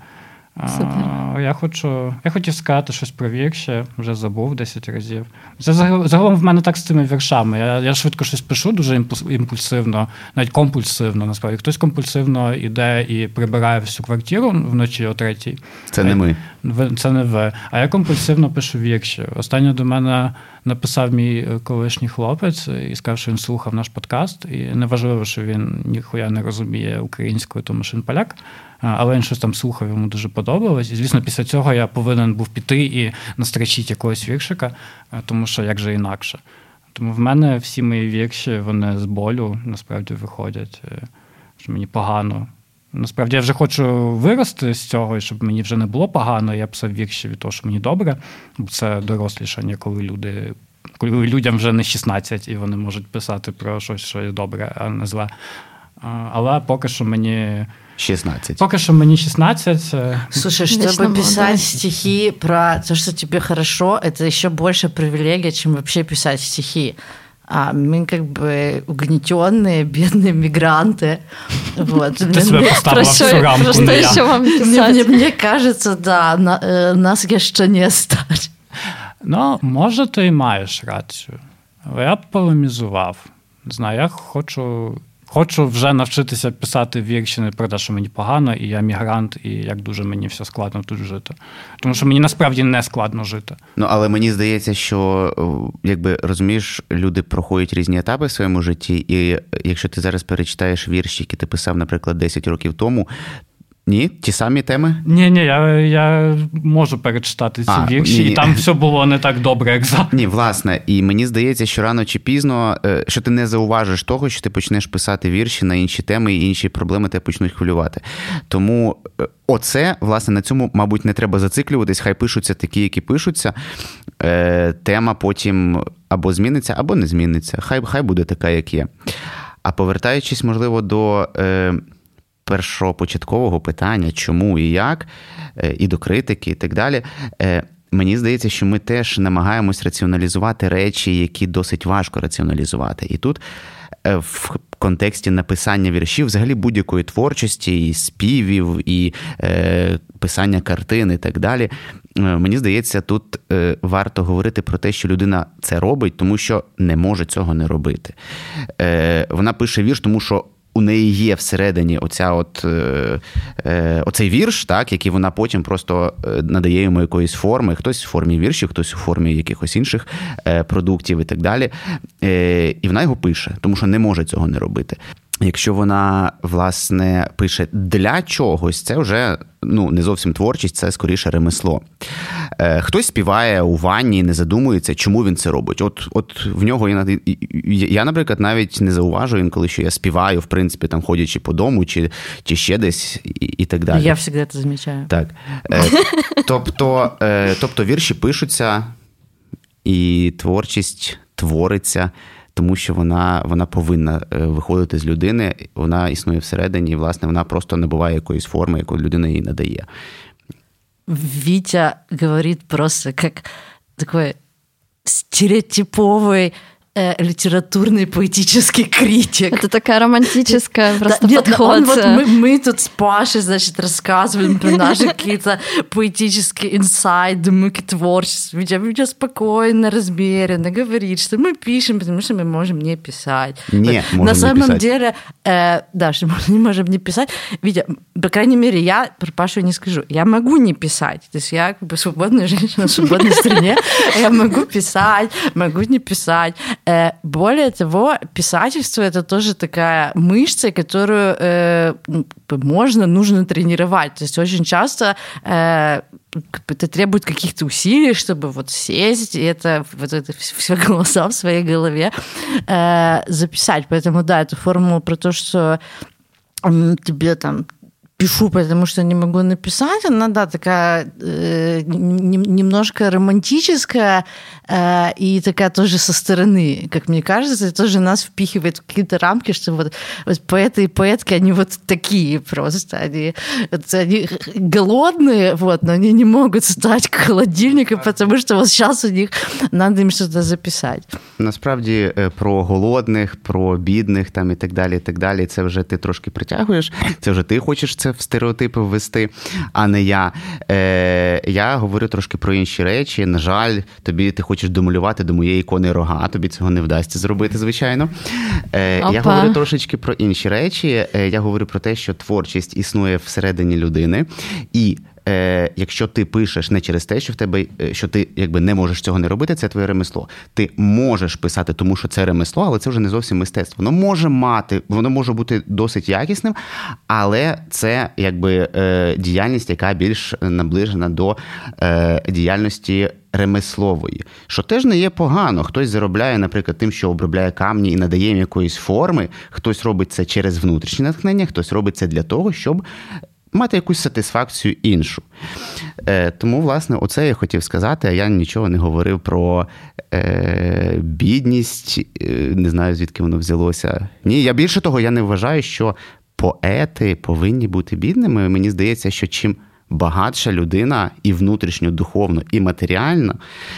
Я хотів сказати щось про вірші, вже забув 10 разів. Це загалом в мене так з цими віршами. Я швидко щось пишу, дуже імпульсивно, навіть компульсивно, насправді. Хтось компульсивно іде і прибирає всю квартиру вночі о 3:00. Це не ми. Це не ви. А я компульсивно пишу вірші. Останньо до мене написав мій колишній хлопець і сказав, що він слухав наш подкаст. І неважливо, що він ніхуя не розуміє українською, тому що він поляк. Але він щось там слухав, йому дуже подобалось. І, звісно, після цього я повинен був піти і настрочити якогось віршика, тому що як же інакше. Тому в мене всі мої вірші, вони з болю, насправді, виходять, що мені погано. Насправді, я вже хочу вирости з цього, і щоб мені вже не було погано, я писав вірші від того, що мені добре, бо це дорослішання, коли людям вже не 16, і вони можуть писати про щось, що є добре, а не зле. Але поки що мені 16. Пока что мне 16. Слушай, чтобы писать стихи про то, что тебе хорошо, это еще больше привилегия, чем вообще писать стихи. А мы как бы угнетенные, бедные мигранты. Вот. Ты себя поставила в всю рамку. Просто еще вам писать. Мне кажется, да, нас ще не стать. Ну, може, ти і маєш рацію. Але я б полемізував. Не знаю, я хочу вже навчитися писати вірші не про те, що мені погано, і я мігрант, і як дуже мені все складно тут жити. Тому що мені насправді не складно жити. Ну, але мені здається, що, якби, розумієш, люди проходять різні етапи в своєму житті, і якщо ти зараз перечитаєш вірші, які ти писав, наприклад, 10 років тому, ні? Ті самі теми? Ні, я можу перечитати ці вірші, і там все було не так добре, як зараз. Ні, власне, і мені здається, що рано чи пізно, що ти не зауважиш того, що ти почнеш писати вірші на інші теми, і інші проблеми тебе почнуть хвилювати. Тому оце, власне, на цьому, мабуть, не треба зациклюватись, хай пишуться такі, які пишуться. Тема потім або зміниться, або не зміниться. Хай буде така, як є. А повертаючись, можливо, до першопочаткового питання, чому і як, і до критики, і так далі, мені здається, що ми теж намагаємось раціоналізувати речі, які досить важко раціоналізувати. І тут в контексті написання віршів, взагалі будь-якої творчості, і співів, і писання картин і так далі. Мені здається, тут варто говорити про те, що людина це робить, тому що не може цього не робити. Вона пише вірш, тому що у неї є всередині оцей вірш, так, який вона потім просто надає йому якоїсь форми, хтось в формі віршів, хтось у формі якихось інших продуктів і так далі. І вона його пише, тому що не може цього не робити. Якщо вона, власне, пише для чогось, це вже не зовсім творчість, це скоріше ремесло. Хтось співає у ванні і не задумується, чому він це робить. От в нього, я, наприклад, навіть не зауважую інколи, що я співаю, в принципі, там, ходячи по дому, чи ще десь і так далі. Я завжди це замічаю. Так. Тобто вірші пишуться, і творчість твориться, тому що вона повинна виходити з людини, вона існує всередині, і, власне, вона просто набуває якоїсь форми, яку людина їй надає. Витя говорит просто как такой стереотиповый литературный поэтический критик. Это такая романтическая просто подход. Мы тут с Пашей, значит, рассказываем про наши какие-то поэтические инсайды, мы творчество. Витя спокойно, размеренно говорит, что мы пишем, потому что мы можем не писать. На самом деле, да, что мы не можем не писать. Витя, по крайней мере, я про Пашу не скажу. Я могу не писать. То есть я как бы свободная женщина в свободной стране. Я могу писать, могу не писать. Более того, писательство – это тоже такая мышца, которую нужно тренировать. То есть очень часто это требует каких-то усилий, чтобы вот сесть и это все голоса в своей голове записать. Поэтому, да, эту формулу про то, что тебе там пишу, потому что не могу написать, она, да, такая немножко романтическая и такая тоже со стороны, как мне кажется, и тоже нас впихивает в какие-то рамки, что вот поэты и поэтки, они вот такие просто, они голодные, вот, но они не могут встать к холодильнику, потому что вот сейчас у них надо им что-то записать. Насправді про голодних, про бідних там і так далі, це вже ти трошки притягуєш, це вже ти хочеш це в стереотипи ввести, а не я. Я говорю трошки про інші речі. На жаль, ти хочеш домалювати до моєї ікони рога, тобі цього не вдасться зробити, звичайно. Я говорю трошечки про інші речі. Я говорю про те, що творчість існує всередині людини, і якщо ти пишеш не через те, що ти якби не можеш цього не робити, це твоє ремесло. Ти можеш писати, тому що це ремесло, але це вже не зовсім мистецтво. Воно може бути досить якісним, але це якби діяльність, яка більш наближена до діяльності ремеслової. Що теж не є погано. Хтось заробляє, наприклад, тим, що обробляє камні і надає їм якоїсь форми, хтось робить це через внутрішнє натхнення, хтось робить це для того, щоб мати якусь сатисфакцію іншу. Тому, власне, оце я хотів сказати, а я нічого не говорив про бідність, не знаю, звідки воно взялося. Ні, я більше того, я не вважаю, що поети повинні бути бідними. Мені здається, що чим багатша людина і внутрішньо, духовно, і матеріально,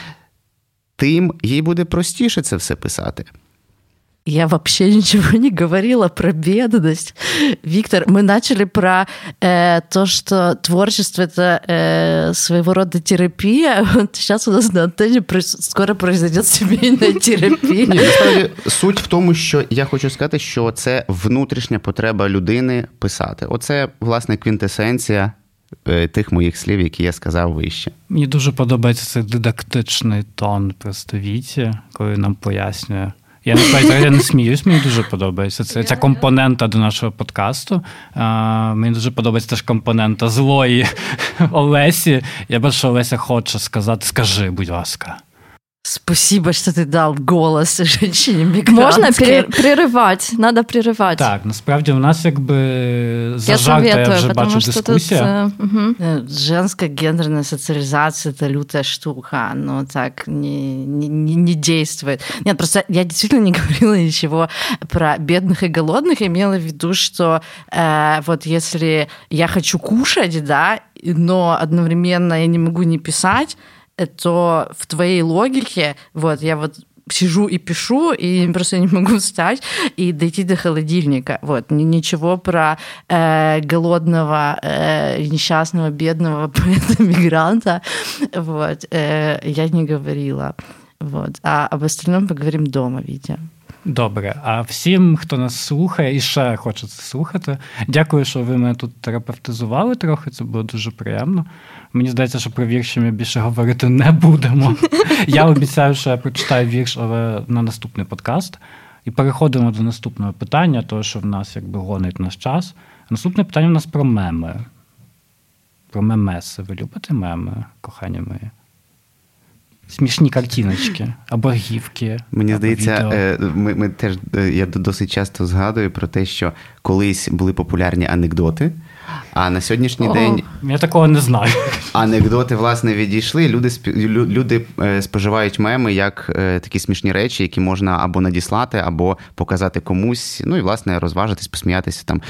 тим їй буде простіше це все писати. Я вообще ничего не говорила про бедность. Виктор, мы начали про то, что творчество – это своего рода терапия. Вот сейчас у нас на антенне скоро произойдет сімейна терапія. Ні, насправді, суть в тому, що я хочу сказати, що це внутрішня потреба людини писати. Оце, власне, квінтесенція тих моїх слів, які я сказав вище. Мені дуже подобається цей дидактичний тон просто Віті, коли нам пояснює. Я не сміюсь, мені дуже подобається. Ця компонента до нашого подкасту. Мені дуже подобається теж компонента злої Олесі. Я бачу, що Олеся хоче сказати, скажи, будь ласка. Спасибо, что ты дал голос женщине-мигрантке. Можна прерывать, надо прерывать. Так, насправді у нас якби зажата, я вже бачу, дискусія. Женская гендерная социализация – это лютая штука, но так не действует. Нет, просто я действительно не говорила ничего про бедных и голодных, я имела в виду, что вот если я хочу кушать, да, но одновременно я не могу не писать, то в твоей логике, вот, я вот сижу и пишу, и просто не могу встать и дойти до холодильника. Вот. Ничего про голодного, несчастного, бедного поэта-мигранта вот, я не говорила. Вот. А об остальном поговорим дома, Вітя. Добре. А всім, хто нас слухає і ще хоче це слухати, дякую, що ви мене тут терапевтизували трохи, це було дуже приємно. Мені здається, що про вірші ми більше говорити не будемо. Я обіцяю, що я прочитаю вірш, але на наступний подкаст. І переходимо до наступного питання, того, що в нас якби гонить наш час. Наступне питання у нас про меми. Про мемеси. Ви любите меми, кохані мої? Смішні картиночки, або гівки. Мені або здається, відео. я досить часто згадую про те, що колись були популярні анекдоти, а на сьогоднішній день... Я такого не знаю. Анекдоти, власне, відійшли. Люди споживають меми як такі смішні речі, які можна або надіслати, або показати комусь, ну і, власне, розважитись, посміятися там,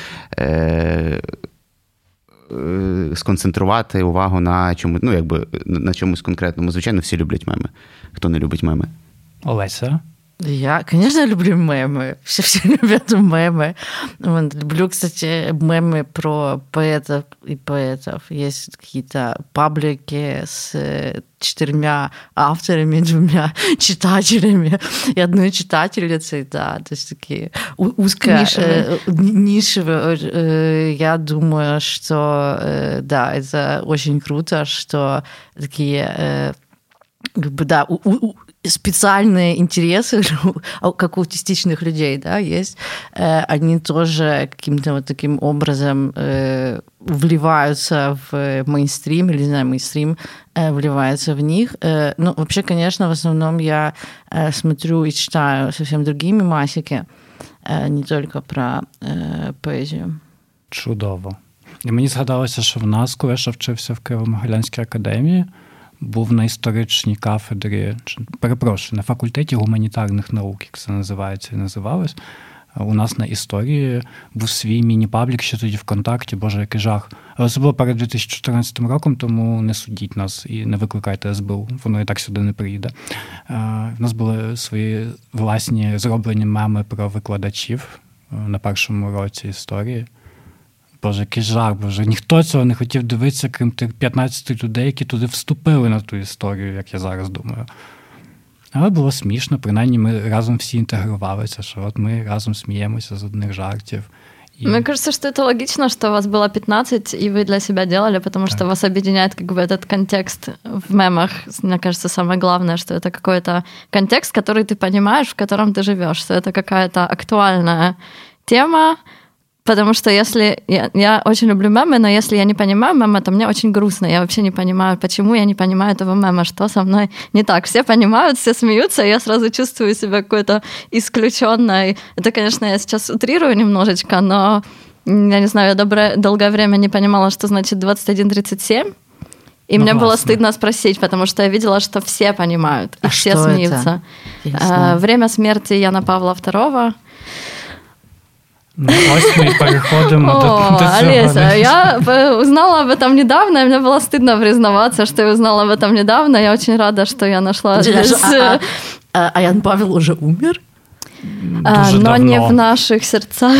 сконцентрувати увагу на чомусь, ну, якби на чомусь конкретному. Звичайно, всі люблять меми. Хто не любить меми? Олеся? Я, конечно, люблю мемы. Все любят мемы. Вот, люблю, кстати, мемы про поэтов и поэтов. Есть какие-то паблики с 4 авторами, 2 читателями и 1 читательницей, да, то есть такие нишевые. Я думаю, что, да, это очень круто, что такие, как бы, да, специальные интересы, как у аутистичных людей, да, есть, они тоже каким-то вот таким образом вливаются в мейнстрим, или, не знаю, мейнстрим вливается в них. Ну, вообще, конечно, в основном я смотрю и читаю совсем другие мемасики, не только про поезію. Чудово. І мені згадалося, що в нас, коли я ще вчився в Києво-Могилянській академії, був на історичній кафедрі, перепрошую, на факультеті гуманітарних наук, як це називається і називалось. У нас на історії був свій міні-паблік, ще тоді ВКонтакті, боже, який жах. Але це було перед 2014 роком, тому не судіть нас і не викликайте СБУ, воно і так сюди не приїде. У нас були свої власні зроблені меми про викладачів на першому році історії. Боже, який жах, боже, ніхто цього не хотів дивитися, крім тих 15 людей, які туди вступили на ту історію, як я зараз думаю. Але було смішно, принаймні ми разом всі інтегрувалися, що от ми разом сміємося з одних жартів. Мне кажется, что это логично, что вас было 15, и вы для себя делали, потому что вас объединяет как бы этот контекст в мемах. Мне кажется, самое главное, что это какой-то контекст, который ты понимаешь, в котором ты живешь, что это какая-то актуальная тема. Потому что если... Я очень люблю мемы, но если я не понимаю мема, то мне очень грустно. Я вообще не понимаю, почему я не понимаю этого мема, что со мной не так. Все понимают, все смеются, и я сразу чувствую себя какой-то исключенной. Это, конечно, я сейчас утрирую немножечко, но, я не знаю, я долгое время не понимала, что значит 21:37. И мне было стыдно спросить, потому что я видела, что все понимают, и все смеются. Время смерти Яна Павла II. Ну, ось ми переходимо до цього. Олеся, я узнала об этом недавно, и мне было стыдно признаваться, что я узнала об этом недавно. Я очень рада, что я нашла здесь... А Ян Павел уже умер? Но не в наших сердцах.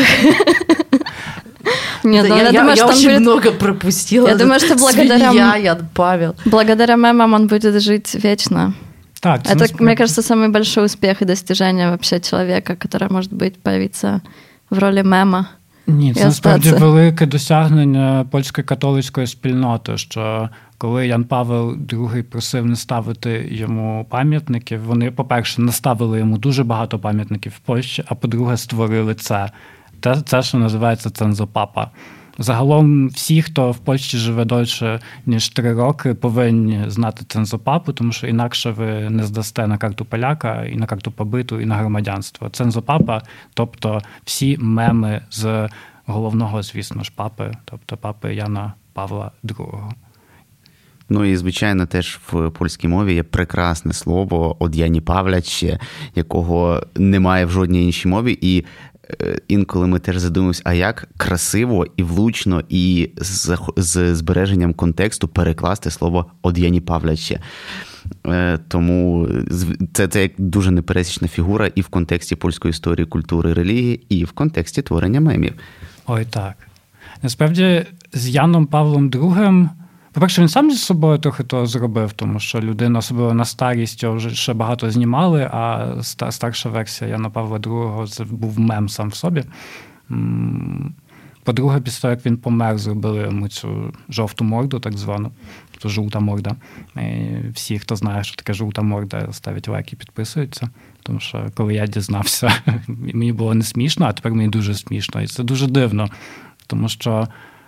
Нет, я думаю, что очень много пропустила. Я думаю, что Ян Павел. Благодаря мемам он будет жить вечно. Так, это, мне кажется, самый большой успех и достижение вообще человека, который может появиться в ролі мема. Ні, це насправді велике досягнення польської католицької спільноти, що коли Ян Павел II просив не ставити йому пам'ятників, вони, по-перше, наставили йому дуже багато пам'ятників в Польщі, а по-друге, створили це. Це, що називається цензопапа. Загалом всі, хто в Польщі живе дольше, ніж 3 роки, повинні знати цензопапу, тому що інакше ви не здасте на карту поляка, і на карту побиту, і на громадянство. Цензопапа, тобто всі меми з головного, звісно ж, папи, тобто папи Яна Павла II. Ну і, звичайно, теж в польській мові є прекрасне слово «од Яні Павляче», якого немає в жодній іншій мові, і інколи ми теж задумуємося, а як красиво і влучно і з збереженням контексту перекласти слово «од Яні Павляче». Тому це як дуже непересічна фігура і в контексті польської історії, культури, релігії, і в контексті творення мемів. Ой, так. Насправді, з Яном Павлом II, по-перше, він сам зі собою трохи то зробив, тому що людина, особливо на старість, його вже ще багато знімали, а старша версія Яна Павла II це був мем сам в собі. По-друге, після того, як він помер, зробили йому цю жовту морду, так звану, тобто жовта морда. І всі, хто знає, що таке жовта морда, ставлять лайки, підписуються. Тому що, коли я дізнався, мені було не смішно, а тепер мені дуже смішно. І це дуже дивно, тому що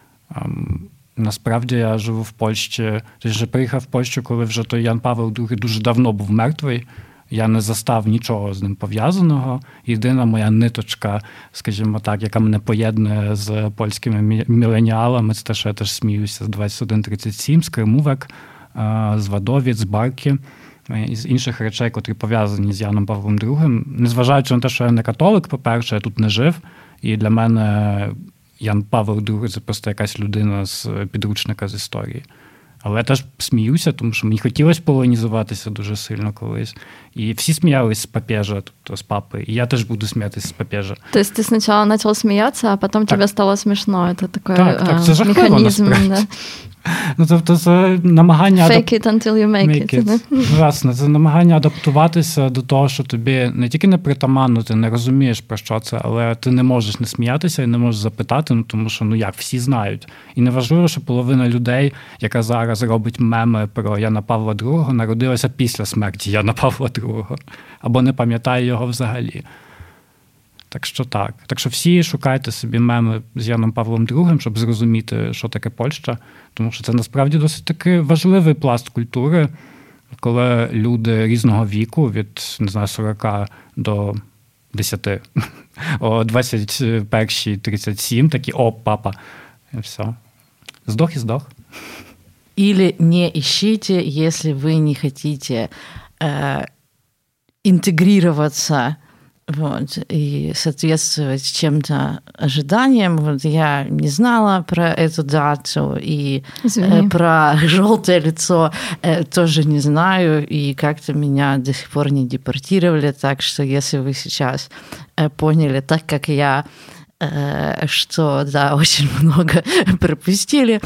насправді я живу в Польщі, тобто приїхав в Польщу, коли вже той Ян Павел II дуже давно був мертвий. Я не застав нічого з ним пов'язаного. Єдина моя ниточка, скажімо так, яка мене поєднує з польськими міленіалами, це те, що я теж сміюся з 2137, з Кримувек, з Вадовіць, з Барки і з інших речей, котрі пов'язані з Яном Павлом II. Незважаючи на те, що я не католик, по-перше, я тут не жив, і для мене Ян Павел II – це просто якась людина з підручника з історії. Але я теж сміюся, тому що мені хотілося полонізуватися дуже сильно колись. І всі сміялись з папежа, тобто з папи. І я теж буду сміятися з папежа. Тобто ти спочатку почав сміятися, а потім тобі стало смішно. Це такий це жахливо, механізм. Да. Ну, тобто це намагання... Fake it until you make it. Власне, це намагання адаптуватися до того, що тобі не тільки не притаманно, ти не розумієш, про що це, але ти не можеш не сміятися і не можеш запитати, тому що, як, всі знають. І неважливо, що половина людей, яка зараз робить меми про Яна Павла II, народилася після смерті Яна Павла II, або не пам'ятає його взагалі. Так що так. Так що всі шукайте собі меми з Яном Павлом II, щоб зрозуміти, що таке Польща. Тому що це насправді досить таки важливий пласт культури, коли люди різного віку, від, 40 до 10, о 21-37, такі, папа, і все. Здох і здох. Или не ищите, если вы не хотите интегрироваться и соответствовать чем-то ожиданиям. Я не знала про эту дату, и про желтое лицо тоже не знаю, и как-то меня до сих пор не депортировали, так что если вы сейчас поняли, так как я, что, да, очень много пропустили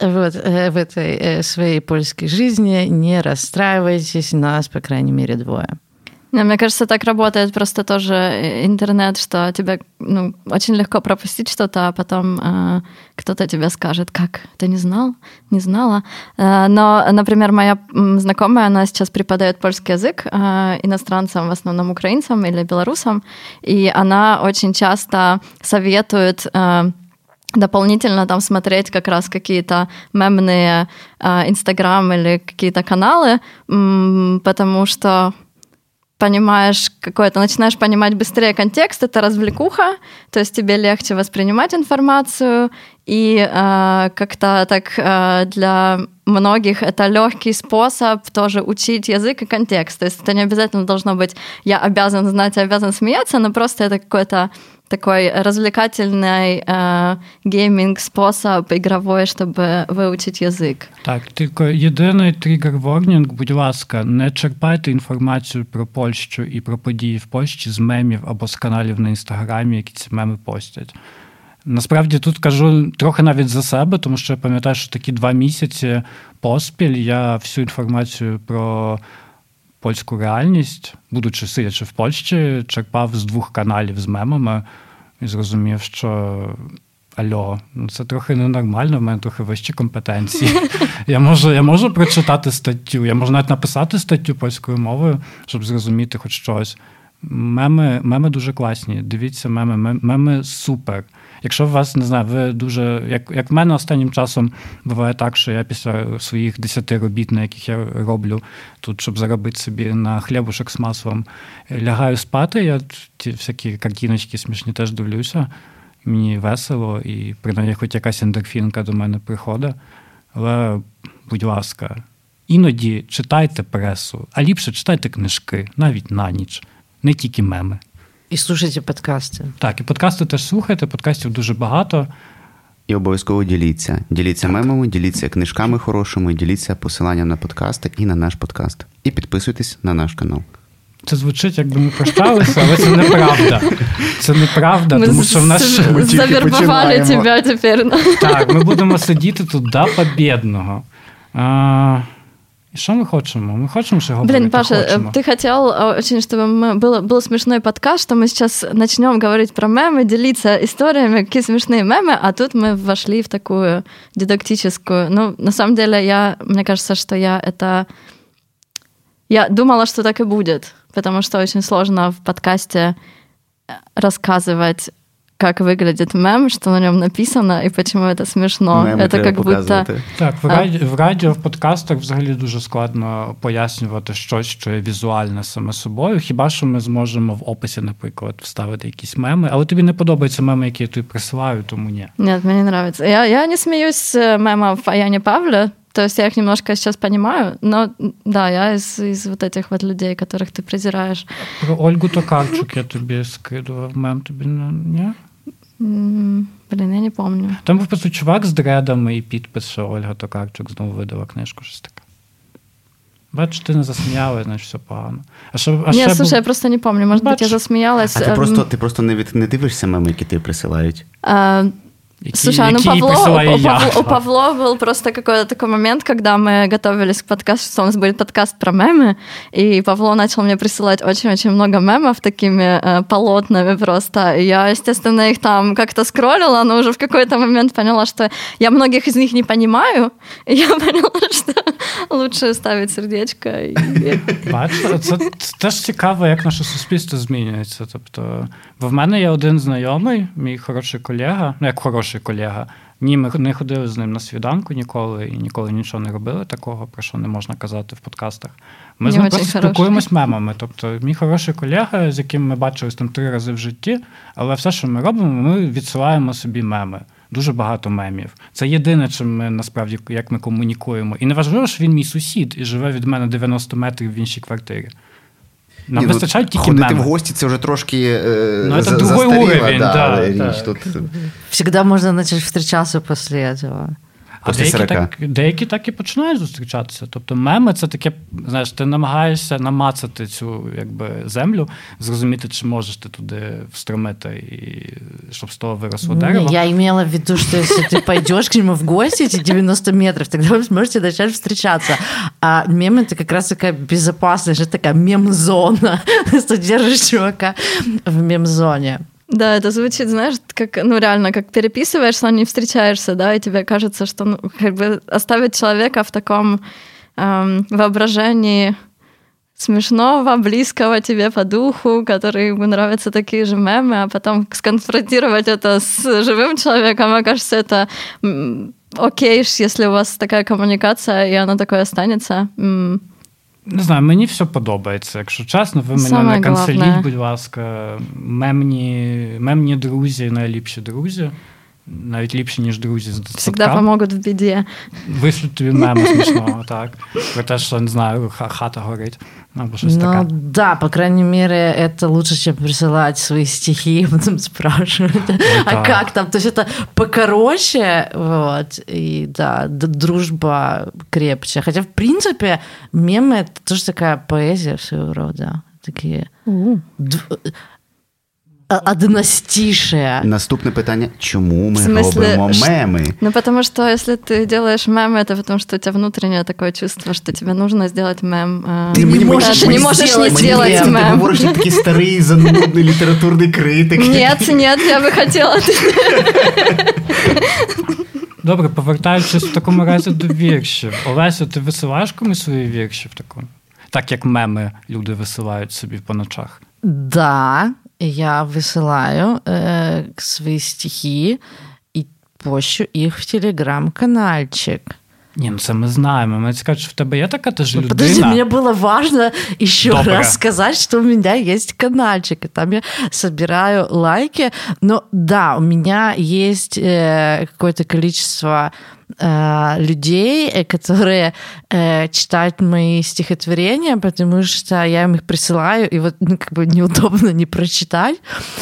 в этой своей польской жизни, не расстраивайтесь, нас, по крайней мере, 2. Мне кажется, так работает просто тоже интернет, что тебе очень легко пропустить что-то, а потом кто-то тебе скажет, как, ты не знал, не знала. Но, например, моя знакомая, она сейчас преподает польский язык иностранцам, в основном украинцам или белорусам, и она очень часто советует дополнительно там смотреть как раз какие-то мемные Инстаграм или какие-то каналы, потому что понимаешь какое-то, начинаешь понимать быстрее контекст, это развлекуха, то есть тебе легче воспринимать информацию, и как-то так для многих это легкий способ тоже учить язык и контекст. То есть это не обязательно должно быть «я обязан знать, я обязан смеяться», но просто это какой-то такой развлекательный геймінг-спосіб ігровий, щоб вивчити язик. Так, тільки єдиний тригер-ворнінг, будь ласка, не черпайте інформацію про Польщу і про події в Польщі з мемів або з каналів на Інстаграмі, які ці меми постять. Насправді тут кажу трохи навіть за себе, тому що я пам'ятаю, що такі 2 місяці поспіль я всю інформацію про польську реальність, будучи сидячи в Польщі, черпав з 2 каналів з мемами і зрозумів, що альо, це трохи ненормально, в мене трохи вищі компетенції. Я можу прочитати статтю, я можу навіть написати статтю польською мовою, щоб зрозуміти хоч щось. Меми дуже класні, дивіться меми супер. Якщо у вас, не знаю, ви дуже... Як в мене останнім часом буває так, що я після своїх 10 робіт, на яких я роблю тут, щоб заробити собі на хлібушок з маслом, лягаю спати, я ті всякі картиночки смішні теж дивлюся, мені весело, і принаймні хоч якась ендорфінка до мене приходить. Але, будь ласка, іноді читайте пресу, а ліпше читайте книжки, навіть на ніч, не тільки меми. І слухайте подкасти. Так, і подкасти теж слухайте, подкастів дуже багато. І обов'язково діліться. Діліться мемами, діліться книжками хорошими, діліться посиланням на подкасти і на наш подкаст. І підписуйтесь на наш канал. Це звучить, якби ми прощалися, але це неправда. Це неправда, тому що в нас... Завербували тебе тепер. Так, ми будемо сидіти тут до побєдного. И что мы хотим? Мы хотим, что говорить. Блин, Паша, ты хотел очень, чтобы был смешной подкаст, что мы сейчас начнем говорить про мемы, делиться историями, какие смешные мемы, а тут мы вошли в такую дидактическую... Ну, на самом деле, мне кажется, что я думала, что так и будет, потому что очень сложно в подкасте рассказывать, как выглядит мем, что на нем написано, и почему это смешно. Меми это как будто... Так, в радіо, в подкастах взагалі дуже складно пояснювати щось, що є візуальне саме собою. Хіба що ми зможемо в описі, наприклад, вставити якісь меми. Але тобі не подобаються меми, які я тобі присилаю, тому ні. Нет, мне не нравится. Я не смеюсь с мемов о Яне Павле, то есть я их немножко сейчас понимаю, но да, я из вот этих вот людей, которых ты презираешь. Про Ольгу Токарчук я тобі скидував мем, тобі ні? Блін, я не пам'ятаю. Там був просто чувак з дредами і підпис, що Ольга Токарчук знову видала книжку, щось таке. Бачиш, ти не засміялась, значить все погано. Ні, слушай, я просто не пам'ятаю, може бути, я засміялась. А ти просто не дивишся меми, які ті присилають? Слушай, у Павло был просто какой-то такой момент, когда мы готовились к подкасту, что у нас будет подкаст про мемы, и Павло начал мне присылать очень-очень много мемов такими полотнами просто. И я, естественно, их там как-то скроллила, но уже в какой-то момент поняла, что я многих из них не понимаю, и я поняла, что лучше ставити сердечко. Бачите, це теж цікаво, як наше суспільство змінюється. Тобто, бо в мене є один знайомий, мій хороший колега, ну як хороший колега, ні, ми не ходили з ним на свіданку ніколи, і ніколи нічого не робили такого, про що не можна казати в подкастах. Ми з ним просто спілкуємось мемами. Тобто, мій хороший колега, з яким ми бачились там 3 рази в житті, але все, що ми робимо, ми відсилаємо собі меми. Дуже багато мемів. Це єдине, чим ми, насправді, як ми комунікуємо. І не важливо, що він мій сусід і живе від мене 90 метрів в іншій квартирі. Нам вистачають тільки меми. Ходити в гості – це вже трошки це другий уровень, річ. Тут... Всегда можно начать встречаться после этого. А деякі так і починають зустрічатися. Тобто меми – це таке, знаєш, ти намагаєшся намацати цю якби, землю, зрозуміти, чи можеш ти туди встромити, і, щоб з того виросло дерево. Я имела в виду, что если ты пойдешь к нему в гости, эти 90 метров, тогда вы сможете начать встречаться. А мем – это как раз такая безопасная, такая мем-зона. Ты держишь чувака в мем-зоне. Да, это звучит, знаешь, как, ну, реально, как переписываешься, но не встречаешься, да, и тебе кажется, что, ну, как бы оставить человека в таком воображении смешного, близкого тебе по духу, который ему нравятся такие же мемы, а потом сконфронтировать это с живым человеком, мне кажется, это окей, если у вас такая коммуникация, и она такой останется. Не знаю, мені все подобається. Якщо чесно, ви мене не канцеліть, будь ласка. Мемні друзі, найліпші друзі. Навіть ліпші, ніж друзі з дитсадка. Всегда помогут в біді. Вишлють тобі мему смішного, так. Про те, що, не знаю, хата горить. Або щось таке. Ну, да, по крайней мере, это лучше, чем присылать свои стихи и потом спрашивать, а как там? То есть это покороче, вот, и да, дружба крепче. Хотя, в принципе, мемы — это тоже такая поэзия своего рода. Такие... Одностишие. Наступне питання. Чому ми робимо меми? Ну, потому что если ты делаешь мемы, это потому что у тебя внутреннее такое чувство, что тебе нужно сделать мем. Ты не можешь не сделать мем. Ти говориш, як такий старий, занудний літературний критик. Нет, я би хотіла. Добре, повертаючись в такому разі до віршів. Олеся, ти висилаєш комусь свої вірші в такому? Так, як меми люди висилають собі по ночах. Да, я высылаю свои стихи и пощу их в телеграм-канальчик. Ні, ну це ми знаємо. Ми скажуть, що в тебе є така теж людина. Подожди, мне было важно еще раз сказать, что у меня есть канальчик, и там я собираю лайки. Но да, у меня есть какое-то количество людей, которые читают мои стихотворения, потому что я им их присылаю, и вот как бы неудобно не прочитать.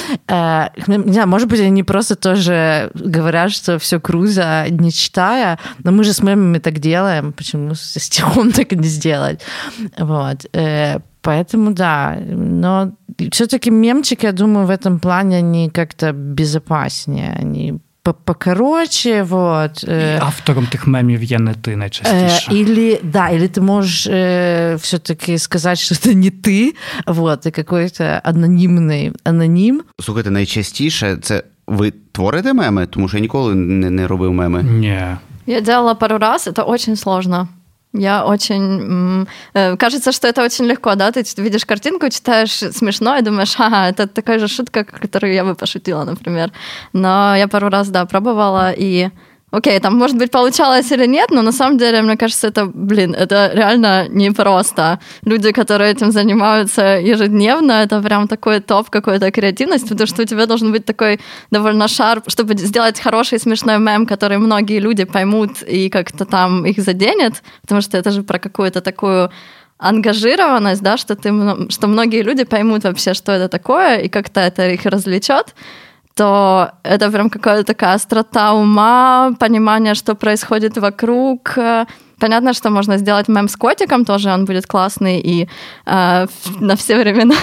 Не знаю, может быть, они просто тоже говорят, что все круто, не читая, но мы же с мемами так делаем, почему со стихом так и не сделать? Вот. Поэтому да, но все-таки мемчики, я думаю, в этом плане они как-то безопаснее, они покороче, вот. І автором тих мемів є не ти найчастіше. Или ты можешь все-таки сказать, что это не ты, вот, и какой-то анонимный аноним. Слухайте, найчастіше це ви творите меми? Тому що я ніколи не робив меми. Ні. Я делала пару раз, это очень сложно. Я очень... Кажется, что это очень легко, да? Ты видишь картинку, читаешь смешно и думаешь, ага, это такая же шутка, которую я бы пошутила, например. Но я пару раз, да, пробовала, и... Окей, там, может быть, получалось или нет, но на самом деле, мне кажется, это реально непросто. Люди, которые этим занимаются ежедневно, это прям такой топ какой-то креативности, потому что у тебя должен быть такой довольно шарп, чтобы сделать хороший смешной мем, который многие люди поймут и как-то там их заденет, потому что это же про какую-то такую ангажированность, да, что многие люди поймут вообще, что это такое, и как-то это их развлечет, то это прям какая-то такая острота ума, понимание, что происходит вокруг. Понятно, что можно сделать мем с котиком, тоже он будет классный и на все времена.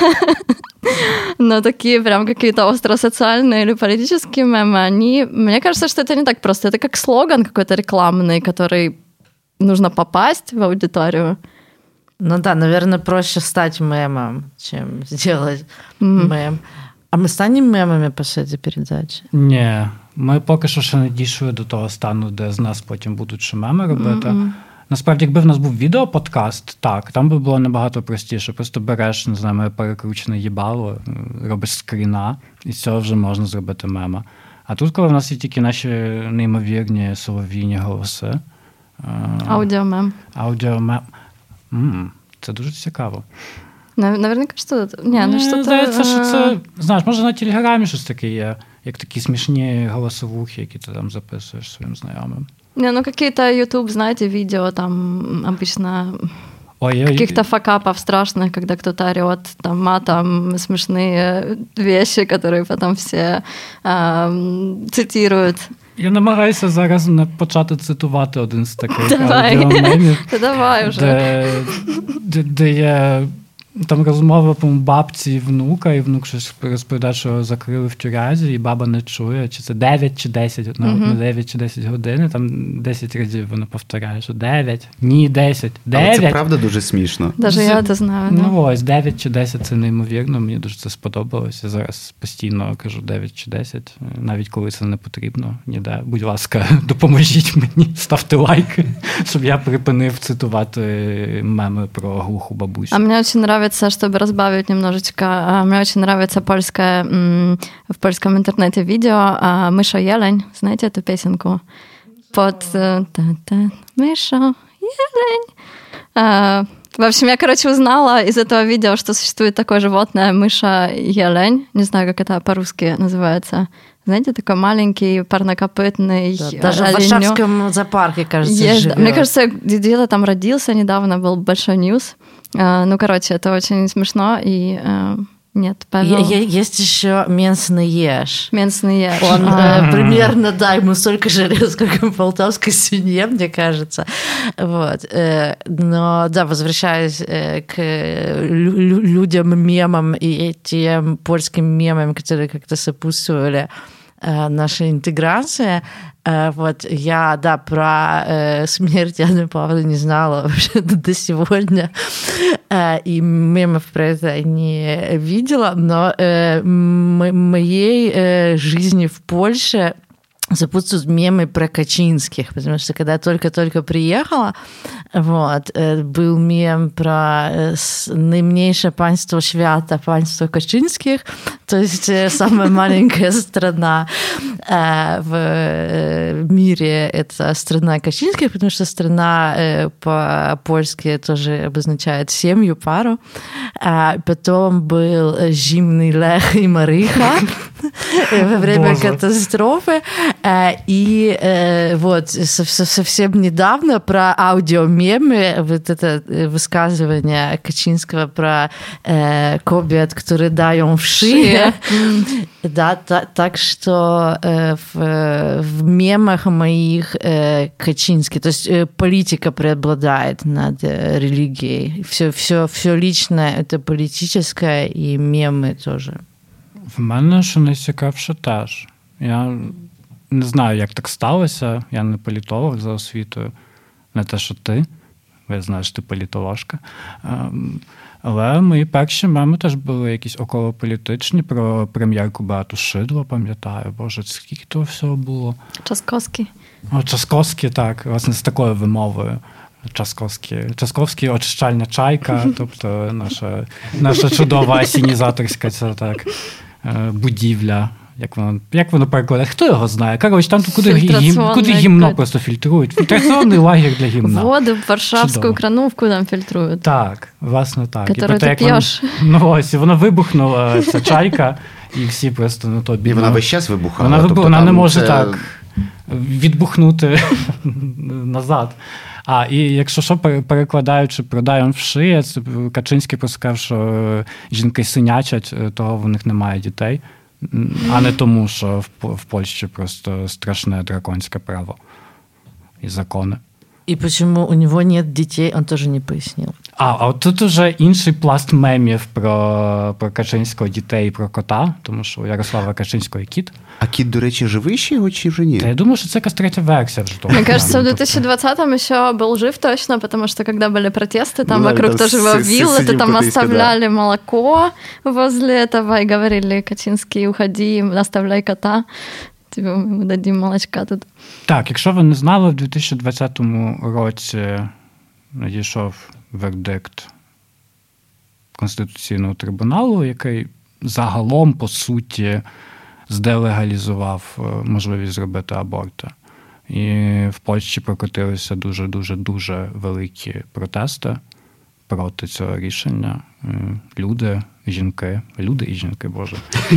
Но такие прям какие-то остро-социальные или политические мемы, мне кажется, что это не так просто. Это как слоган какой-то рекламный, который нужно попасть в аудиторию. Ну да, наверное, проще стать мемом, чем сделать мем. А ми станемо мемами після цієї передачі? Ні, ми поки що ще не дійшли до того стану, де з нас потім будуть ще меми робити. Насправді, якби в нас був відеоподкаст, так, там би було набагато простіше. Просто береш, не знаю, моє перекручене їбало, робиш скріна, і з цього вже можна зробити мема. А тут, коли в нас є тільки наші неймовірні солов'їні голоси. Аудіомем. Це дуже цікаво. Наверняка, що це? Ні, що здається, що це, знаєш, може на Телеграмі щось таке є, як такі смішні голосовухи, які ти там записуєш своїм знайомим. Не, ну какие-то YouTube, знаете, видео там обычно каких-то факапов страшных, когда кто-то орет там матом, смешные вещи, которые потом все цитируют. Я намагаюся зараз не почати цитувати один з таких аудіомемів. Давай вже. Де є там розмова по бабці і внука, і внук щось розповідає, що його закрили в тюрязі, і баба не чує, чи це 9 чи 10, на 9 чи 10 годин, там 10 разів вона повторяє, що 9, ні, 10, 9. Але це правда дуже смішно. Даже я це знаю. Ну ось, 9 чи 10 це неймовірно, мені дуже це сподобалося. Я зараз постійно кажу 9 чи 10, навіть коли це не потрібно ніде. Будь ласка, допоможіть мені, ставте лайки, щоб я припинив цитувати меми про глуху бабусю. А мені дуже подобається, чтобы разбавить немножечко, мне очень нравится в польском интернете видео «Мыша Елень». Знаете эту песенку? Под «Мыша Елень». В общем, я, узнала из этого видео, что существует такое животное «Мыша Елень». Не знаю, как это по-русски называется. Знаете, такой маленький, парнокопытный оленёк. Даже в Варшавском зоопарке, кажется, живет. Мне кажется, где-то там родился недавно, был большой ньюс. Ну, короче, это очень смешно, и нет, Павел... Есть еще Менсный Еж. Менсный Еж. Он примерно, да, ему столько же лет, сколько полтавской свинье, мне кажется. Вот. Но, да, возвращаясь к людям-мемам и тем польским мемам, которые как-то сопутствовали нашей интеграции. Вот я, да, про смерть Анны Павловны не знала вообще до сегодня, и мемов про это не видела, но моей жизни в Польше сопутствуют мемы про Качинских, потому что когда я только-только приехала, вот, был мем про наименьшее панство Świata, панство Качинских, то есть самая маленькая страна в мире — это страна Качинских, потому что страна по-польски тоже обозначает семью, пару. Потом был Зимний Лех и Мариха. во время Боже. катастрофы. И вот совсем недавно про аудиомемы, вот это высказывание Качинского про кобят, которые даем в шее. Да, так что в мемах моих Качинский, то есть политика преобладает над религией. Все личное – это политическое, и мемы тоже. В мене, що найцікавше, теж. Я не знаю, як так сталося. Я не політолог за освітою. Не те, що ти. Я знаю, що ти політоложка. Але мої перші меми теж були якісь околополітичні. Про прем'єрку Беату Шидло, пам'ятаю. Боже, скільки того всього було. Часковський. Часковський, так. Власне, з такою вимовою. Часковський очищальна чайка, тобто наша чудова асінізаторська ця так, будівля. Як воно перекладає? Хто його знає? Коротше, там куди гімно просто фільтрують. Фільтраційний лагерь для гімна. Воду в Варшавську крановку там фільтрують. Так, власне так. Которую ти п'єш. Ось, і вона вибухнула, ця чайка, і всі просто на то бідно. І вона весь час вибухала. Вона не може так відбухнути назад. І якщо що, перекладаючи про «даєм в шиї», Качинський просто сказав, що жінки синячать, того в них немає дітей, а не тому, що в Польщі просто страшне драконське право і закони. И почему у него нет детей, он тоже не пояснил. А тут уже інший пласт мемів про Качинського дітей і про кота, тому що у Ярослава Качинського є кіт. А кіт, до речі, живий ще його чи вже ні? Та я думаю, що це якась третя версія вже того. Мне кажется, в 2020-м еще был жив точно, потому что когда были протесты, там вокруг тоже его виллы, то там оставляли молоко возле этого и говорили: Качинский, уходи, оставляй кота. Тебе ми дадим молочка тут. Так, якщо ви не знали, в 2020 році надійшов вердикт Конституційного трибуналу, який загалом, по суті, зделегалізував можливість зробити аборти. І в Польщі прокотилися дуже великі протести проти цього рішення. Люди і жінки, боже.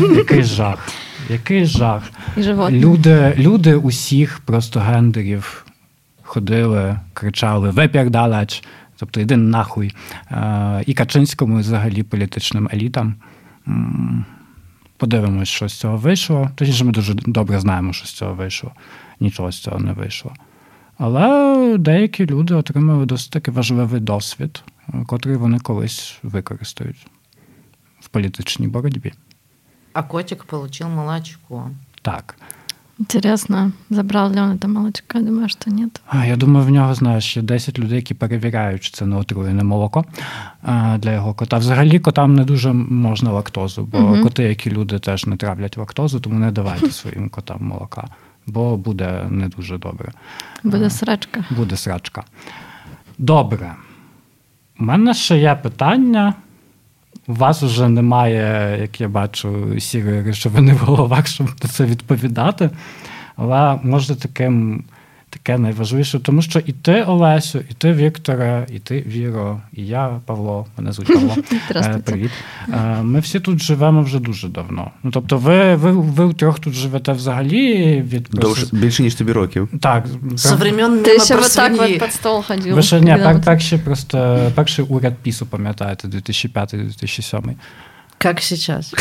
Який жах. І животні. Люди усіх просто гендерів ходили, кричали «випірдалач», тобто «іди нахуй». І Качинському, і взагалі політичним елітам. Подивимось, що з цього вийшло. Точніше, ми дуже добре знаємо, що з цього вийшло. Нічого з цього не вийшло. Але деякі люди отримали досить таки важливий досвід, котрий вони колись використають в політичній боротьбі. А котик получил молочко. Так. Интересно, забрал ли он это молочко? Думаю, что нет. Я думаю, в нього, знаєш, є 10 людей, які перевіряють, чи це не отруєне молоко для його кота. Взагалі, котам не дуже можна лактозу, бо коти, як і люди, теж не травлять лактозу, тому не давайте своїм котам молока, бо буде не дуже добре. Буде срачка. Буде срачка. Добре. У мене ще є питання. У вас вже немає, як я бачу, сірої речовини в головах, щоб на це відповідати. Але може таке найважливіше, тому що і ти, Олесю, і ти, Вікторе, і ти, Віро, і я, Павло, мене звуть Павло. Привіт. Ми всі тут живемо вже дуже давно. Ну, тобто ви втрьох тут живете взагалі від... Більше, ніж тобі років. Так. Со времен Ти ще вот так вот під стол ходив. Ви ще, перший уряд ПІСу, пам'ятаєте, 2005-2007. Как сейчас.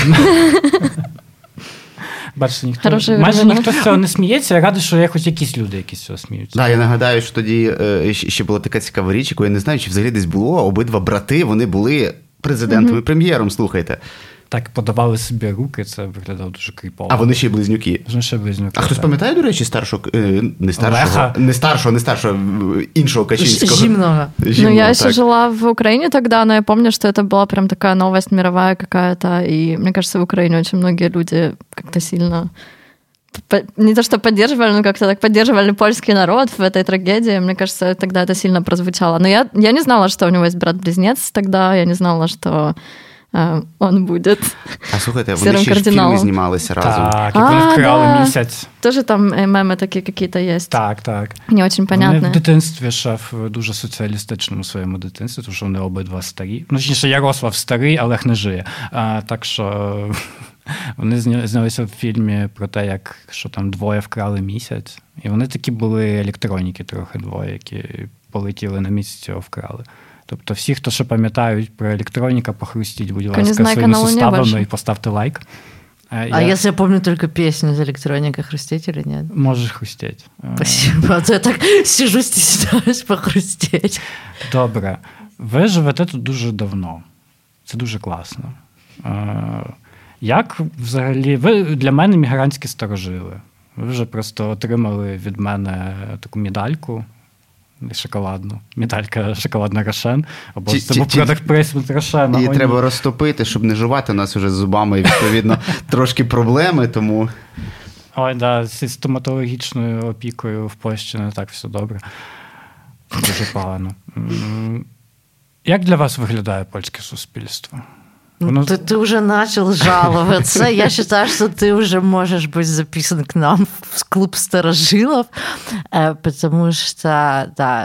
Бачите, майже ніхто з цього не сміється. Я радий, що є хоч якісь люди, які з цього сміються. Так, я нагадаю, що тоді ще була така цікава річ, яку я не знаю, чи взагалі десь було. Обидва брати, вони були президентом і прем'єром, слухайте. Так, подавали собі руки, це виглядало дуже кріпово. А вони ще й близнюки. А хтось пам'ятає, до речі, іншого Качинського? Зимного. Ну, я еще жила в Украине тогда, но я помню, что это была прям такая новость мировая какая-то, и мне кажется, в Украине очень многие люди как-то сильно... Не то, что поддерживали, но как-то так поддерживали польский народ в этой трагедии. Мне кажется, тогда это сильно прозвучало. Но я не знала, что у него есть брат-близнец тогда, я не знала, что... он буде. А слухайте, вони ще ж фільми знімалися разом. Так, як вони вкрали місяць. Тоже там меми такі якісь є. Так. Не дуже понятно. Вони в дитинстві ще в дуже соціалістичному своєму дитинстві, тому що вони обидва старі. Ну, точніше, Ярослав старий, Олег не жиє. Так що Вони знялися в фільмі про те, як що там двоє вкрали місяць. І вони такі були електроніки трохи двоє, які полетіли на місяць, цього вкрали. Тобто всі, хто ще пам'ятають про електроніка, похрустіть, будь ласка, своїми суставами і поставте лайк. Если я помню только песню из электроника, хрустеть или нет? Можеш хрустеть. Спасибо. А то я так сижу, стесняюсь похрустеть. Добре. Ви живете тут дуже давно. Це дуже класно. Як взагалі... Ви для мене мігрантські старожили. Ви вже просто отримали від мене таку медальку шоколадну. Медалька шоколадна Рошен. Або це був продакт плейсмент Рошена. Її треба розтопити, щоб не жувати. У нас вже з зубами, відповідно, трошки проблеми, тому... Ой, да, зі стоматологічною опікою в Польщі не так все добре. Дуже погано. Як для вас виглядає польське суспільство? Ты уже начал жаловаться. Я считаю, что ты уже можешь быть записан к нам в клуб старожилов, потому что, да,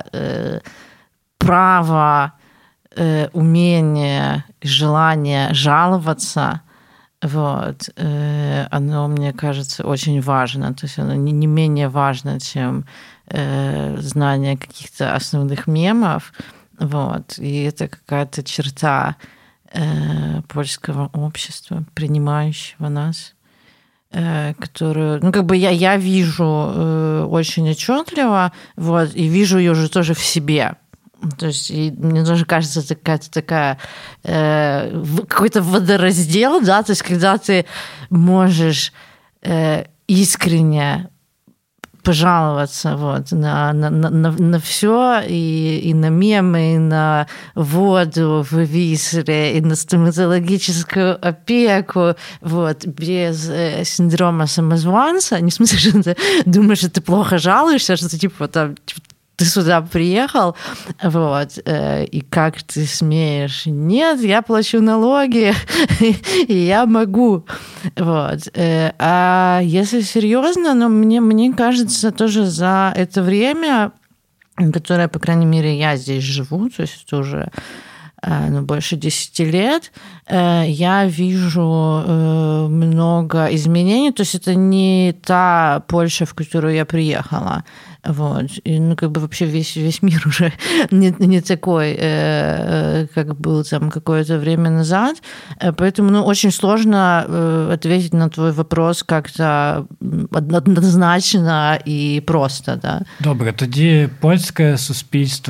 право, умение, желание жаловаться, вот, оно, мне кажется, очень важно. То есть оно не менее важно, чем знание каких-то основных мемов. Вот. И это какая-то черта польского общества, принимающего нас, которую, ну, как бы я вижу очень отчетливо, вот, и вижу ее уже тоже в себе. То есть и мне тоже кажется, это какая-то такая какой-то водораздел, да, то есть когда ты можешь искренне пожаловаться вот, на все, и на мемы, и на воду в Висле, и на стоматологическую опеку, вот, без синдрома самозванца. Не в смысле, что ты думаешь, что ты плохо жалуешься, что ты типа там... Ты сюда приехал, вот, и как ты смеешь? Нет, я плачу налоги, и я могу. Вот. А если серьезно, ну, мне кажется, тоже за это время, которое, по крайней мере, я здесь живу, то есть это уже больше 10 лет, я вижу много изменений. То есть это не та Польша, в которую я приехала. Вот. И, ну, как бы вообще весь мир уже не такой, как был там какое-то время назад. Поэтому, ну, очень сложно ответить на твой вопрос как-то однозначно і просто. Да? Добре, тоді польське суспільство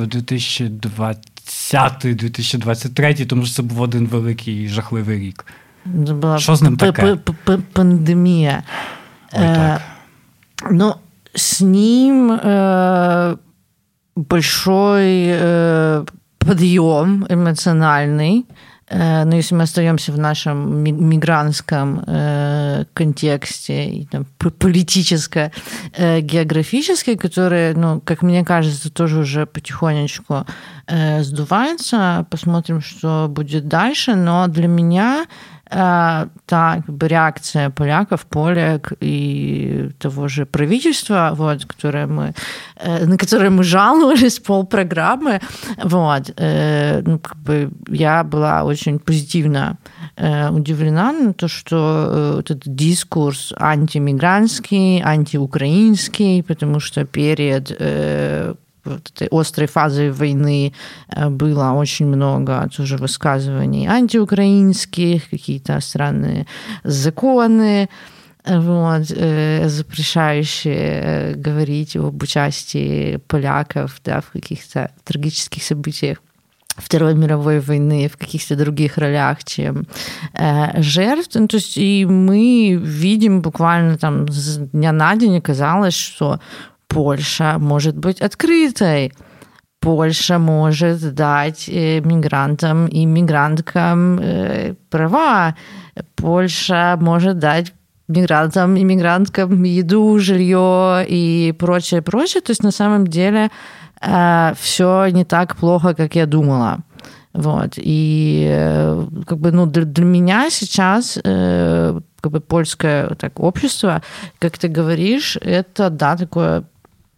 2020-2023, тому що це був один великий жахливий рік. Що з ним таке? Пандемія. Ой, так. Ну, с ним большой подъем эмоциональный. Но если мы остаемся в нашем мигрантском контексте, и, там, политическо-географический, который, ну, как мне кажется, тоже уже потихонечку сдувается. Посмотрим, что будет дальше. Но для меня та как бы, реакция поляков, полек и того же правительства, вот, на которое мы жаловались полпрограммы, вот, ну, как бы я была очень позитивно удивлена на то, что этот дискурс антимигрантский, антиукраинский, потому что перед вот этой острой фазой войны было очень много тоже высказываний антиукраинских, какие-то странные законы, вот, запрещающие говорить об участии поляков, да, в каких-то трагических событиях Второй мировой войны, в каких-то других ролях, чем жертв. Ну, то есть и мы видим буквально там с дня на день, казалось, что Польша может быть открытой. Польша может дать мигрантам и мигранткам права. Польша может дать мигрантам и мигранткам еду, жилье и прочее, прочее. То есть на самом деле все не так плохо, как я думала. Вот. И как бы, ну, для меня сейчас как бы польское так, общество, как ты говоришь, это, да, такое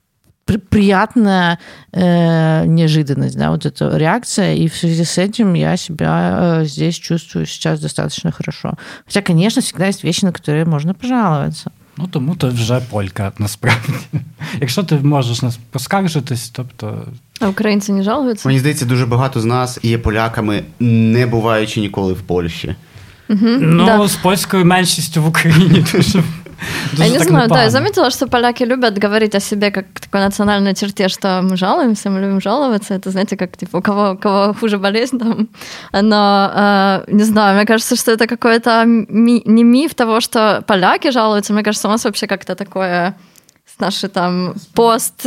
приятная неожиданность, да, вот эта реакция, и в связи с этим я себя здесь чувствую сейчас достаточно хорошо. Хотя, конечно, всегда есть вещи, на которые можно пожаловаться. Ну, тому ти вже полька, насправді. Якщо ти можеш нас поскаржитись, тобто... А українці не жалуються? Мені здається, дуже багато з нас є поляками, не буваючи ніколи в Польщі. Ну, з польською меншістю в Україні дуже... Я не знаю, да, я заметила, что поляки любят говорить о себе как такой национальной черте, что мы жалуемся, мы любим жаловаться. Это, знаете, как типа у кого хуже болезнь там. Но, не знаю, мне кажется, что это какой-то не миф того, что поляки жалуются. Мне кажется, у нас вообще как-то такое... Наши там пост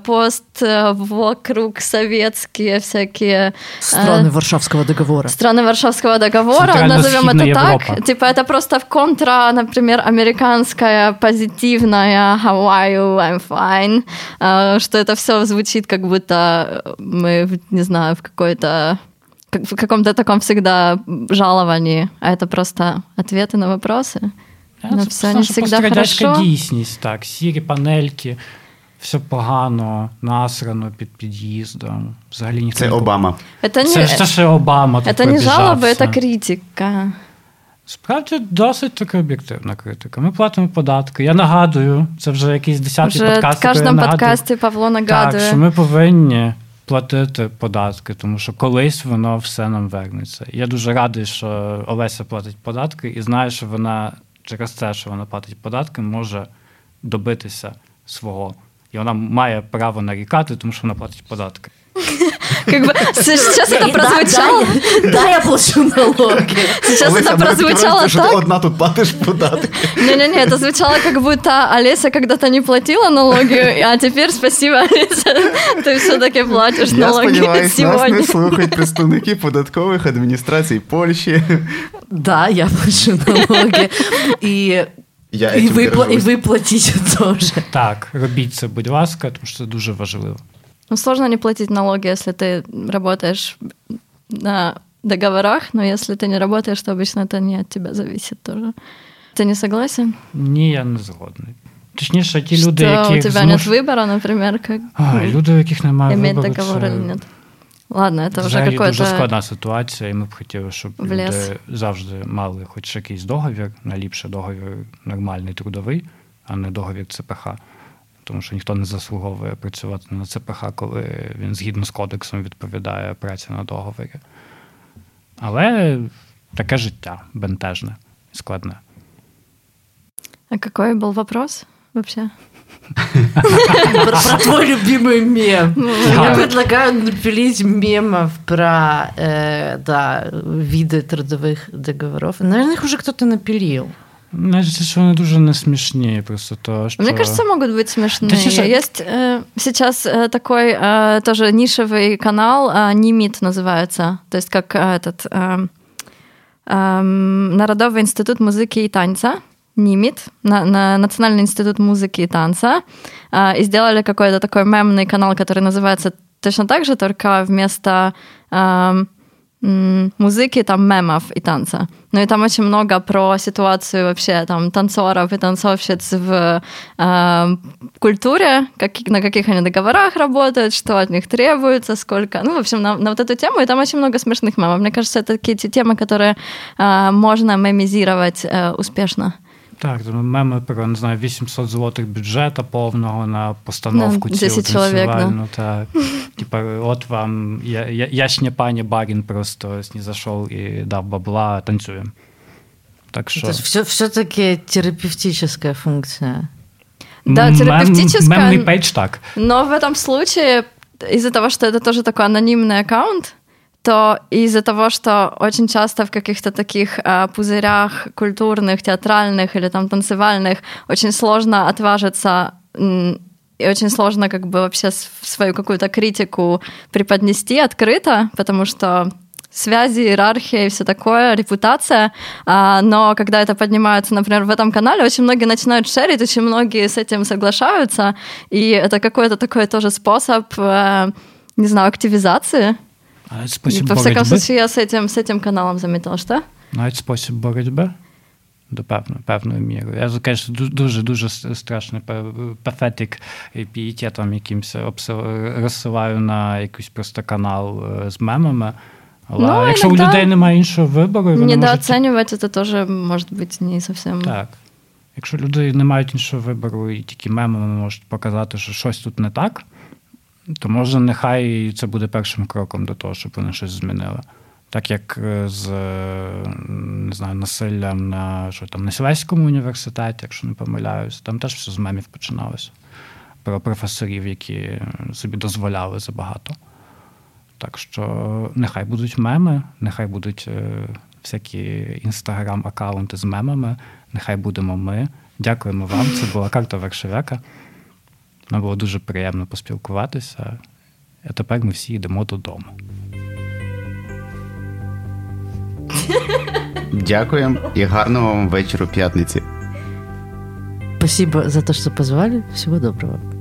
вокруг советские всякие... Страны Варшавского договора. Страны Варшавского договора, назовем это так. Европа. Типа это просто в контра, например, американская позитивная How are you? I'm fine. Что это все звучит, как будто мы, не знаю, в каком-то таком всегда жаловании. А это просто ответы на вопросы. Ну, все не завжди хорошо. Дійсність, так. Сірі панельки, все погано, насрано під під'їздом. Взагалі ніхто Це Обама. Це ще Обама. Це не жалоби, це критика. Справді, досить така об'єктивна критика. Ми платимо податки. Я нагадую, це вже якийсь 10-й подкаст. В кожному подкасті Павло нагадує. Так, що ми повинні платити податки, тому що колись воно все нам вернеться. Я дуже радий, що Олеся платить податки і знаю, що вона через те, що вона платить податки, може добитися свого. І вона має право нарікати, тому що вона платить податки. Сейчас это прозвучало... Да, я плачу налоги. Сейчас это прозвучало так... Что ты одна тут платишь податки. Не-не-не, это звучало, как будто Олеся когда-то не платила налоги, а теперь, спасибо, Олеся, ты все-таки платишь налоги сегодня. Я сподіваюся, нас не слухають представники податкових адміністрацій Польщі. Да, я плачу налоги. І ви платите теж. Так, робіть це, будь ласка, тому що це дуже важливо. Ну, сложно не платить налоги, если ты работаешь на договорах, но если ты не работаешь, то обычно это не от тебя зависит тоже. Ты не согласен? Ні, я не згодний. Точніше, ті люди, які... у тебя нет выбора, например, как... люди, у яких немає вибору, иметь договор или нет. Ладно, это вже какой-то... дуже складна ситуація, і ми б хотіли, щоб люди завжди мали хоч якийсь договір, найліпше договір нормальний трудовий, а не договір ЦПХ. Тому що ніхто не заслуговує працювати на ЦПХ, коли він згідно з кодексом відповідає праці на договорі. Але таке життя бентежне, складне. А який був вопрос вообще? Про твой любимый мем. Я предлагаю напилить мемов про виды трудовых договоров. Наверное, их уже кто-то напилил. Значит, что они дуже не смешные, просто то, что... Мне кажется, могут быть смешные. Есть сейчас такой тоже нишевый канал, Нимит называется, то есть как этот Народовый институт музыки и танца, Нимит, Национальный институт музыки и танца, и сделали какой-то такой мемный канал, который называется точно так же, только вместо... музыки, там, мемов и танца. Ну и там очень много про ситуацию вообще там танцоров и танцовщиц в культуре, на каких они договорах работают, что от них требуется, сколько... Ну, в общем, на вот эту тему, и там очень много смешных мемов. Мне кажется, это такие темы, которые можно мемизировать успешно. Так, меми про, не знаю, 800 злотих бюджета повного на постановку цілу танцювальну. Так. Типа, от вам, ясня пані барин просто снизошел и дав бабла, танцуем. Так что... Это все-таки терапевтическая функция. Да, терапевтическая. Мемный пейдж так. Но в этом случае, из-за того, что это тоже такой анонимный аккаунт, то из-за того, что очень часто в каких-то таких пузырях культурных, театральных или там танцевальных очень сложно отважиться и очень сложно как бы вообще свою какую-то критику преподнести открыто, потому что связи, иерархия и все такое, репутация. Но когда это поднимается, например, в этом канале, очень многие начинают шерить, очень многие с этим соглашаются, и это какой-то такой тоже способ, не знаю, активизации. А это способ Во всяком случае, я с этим каналом заметила, что? А это способ борьбы? до певної міри. Я, звісно, дуже страшний пафетик пієтетом якимось розсилаю на якийсь просто канал з мемами. Але якщо у людей немає іншого вибору... Недооцінювати це теж може бути не зовсім... Так. Якщо люди не мають іншого вибору і тільки мемами можуть показати, що щось тут не так, то може нехай це буде першим кроком до того, щоб вони щось змінили. Так як з, не знаю, насиллям на Сілеському університеті, якщо не помиляюсь, там теж все з мемів починалося. Про професорів, які собі дозволяли забагато. Так що нехай будуть меми, нехай будуть всякі інстаграм-аккаунти з мемами, нехай будемо ми. Дякуємо вам, це була «Карта Варшавяка». Нам було дуже приємно поспілкуватися. А тепер ми всі йдемо додому. Дякуємо і гарного вам вечора п'ятниці. Спасибо за то, что позвали. Всего доброго.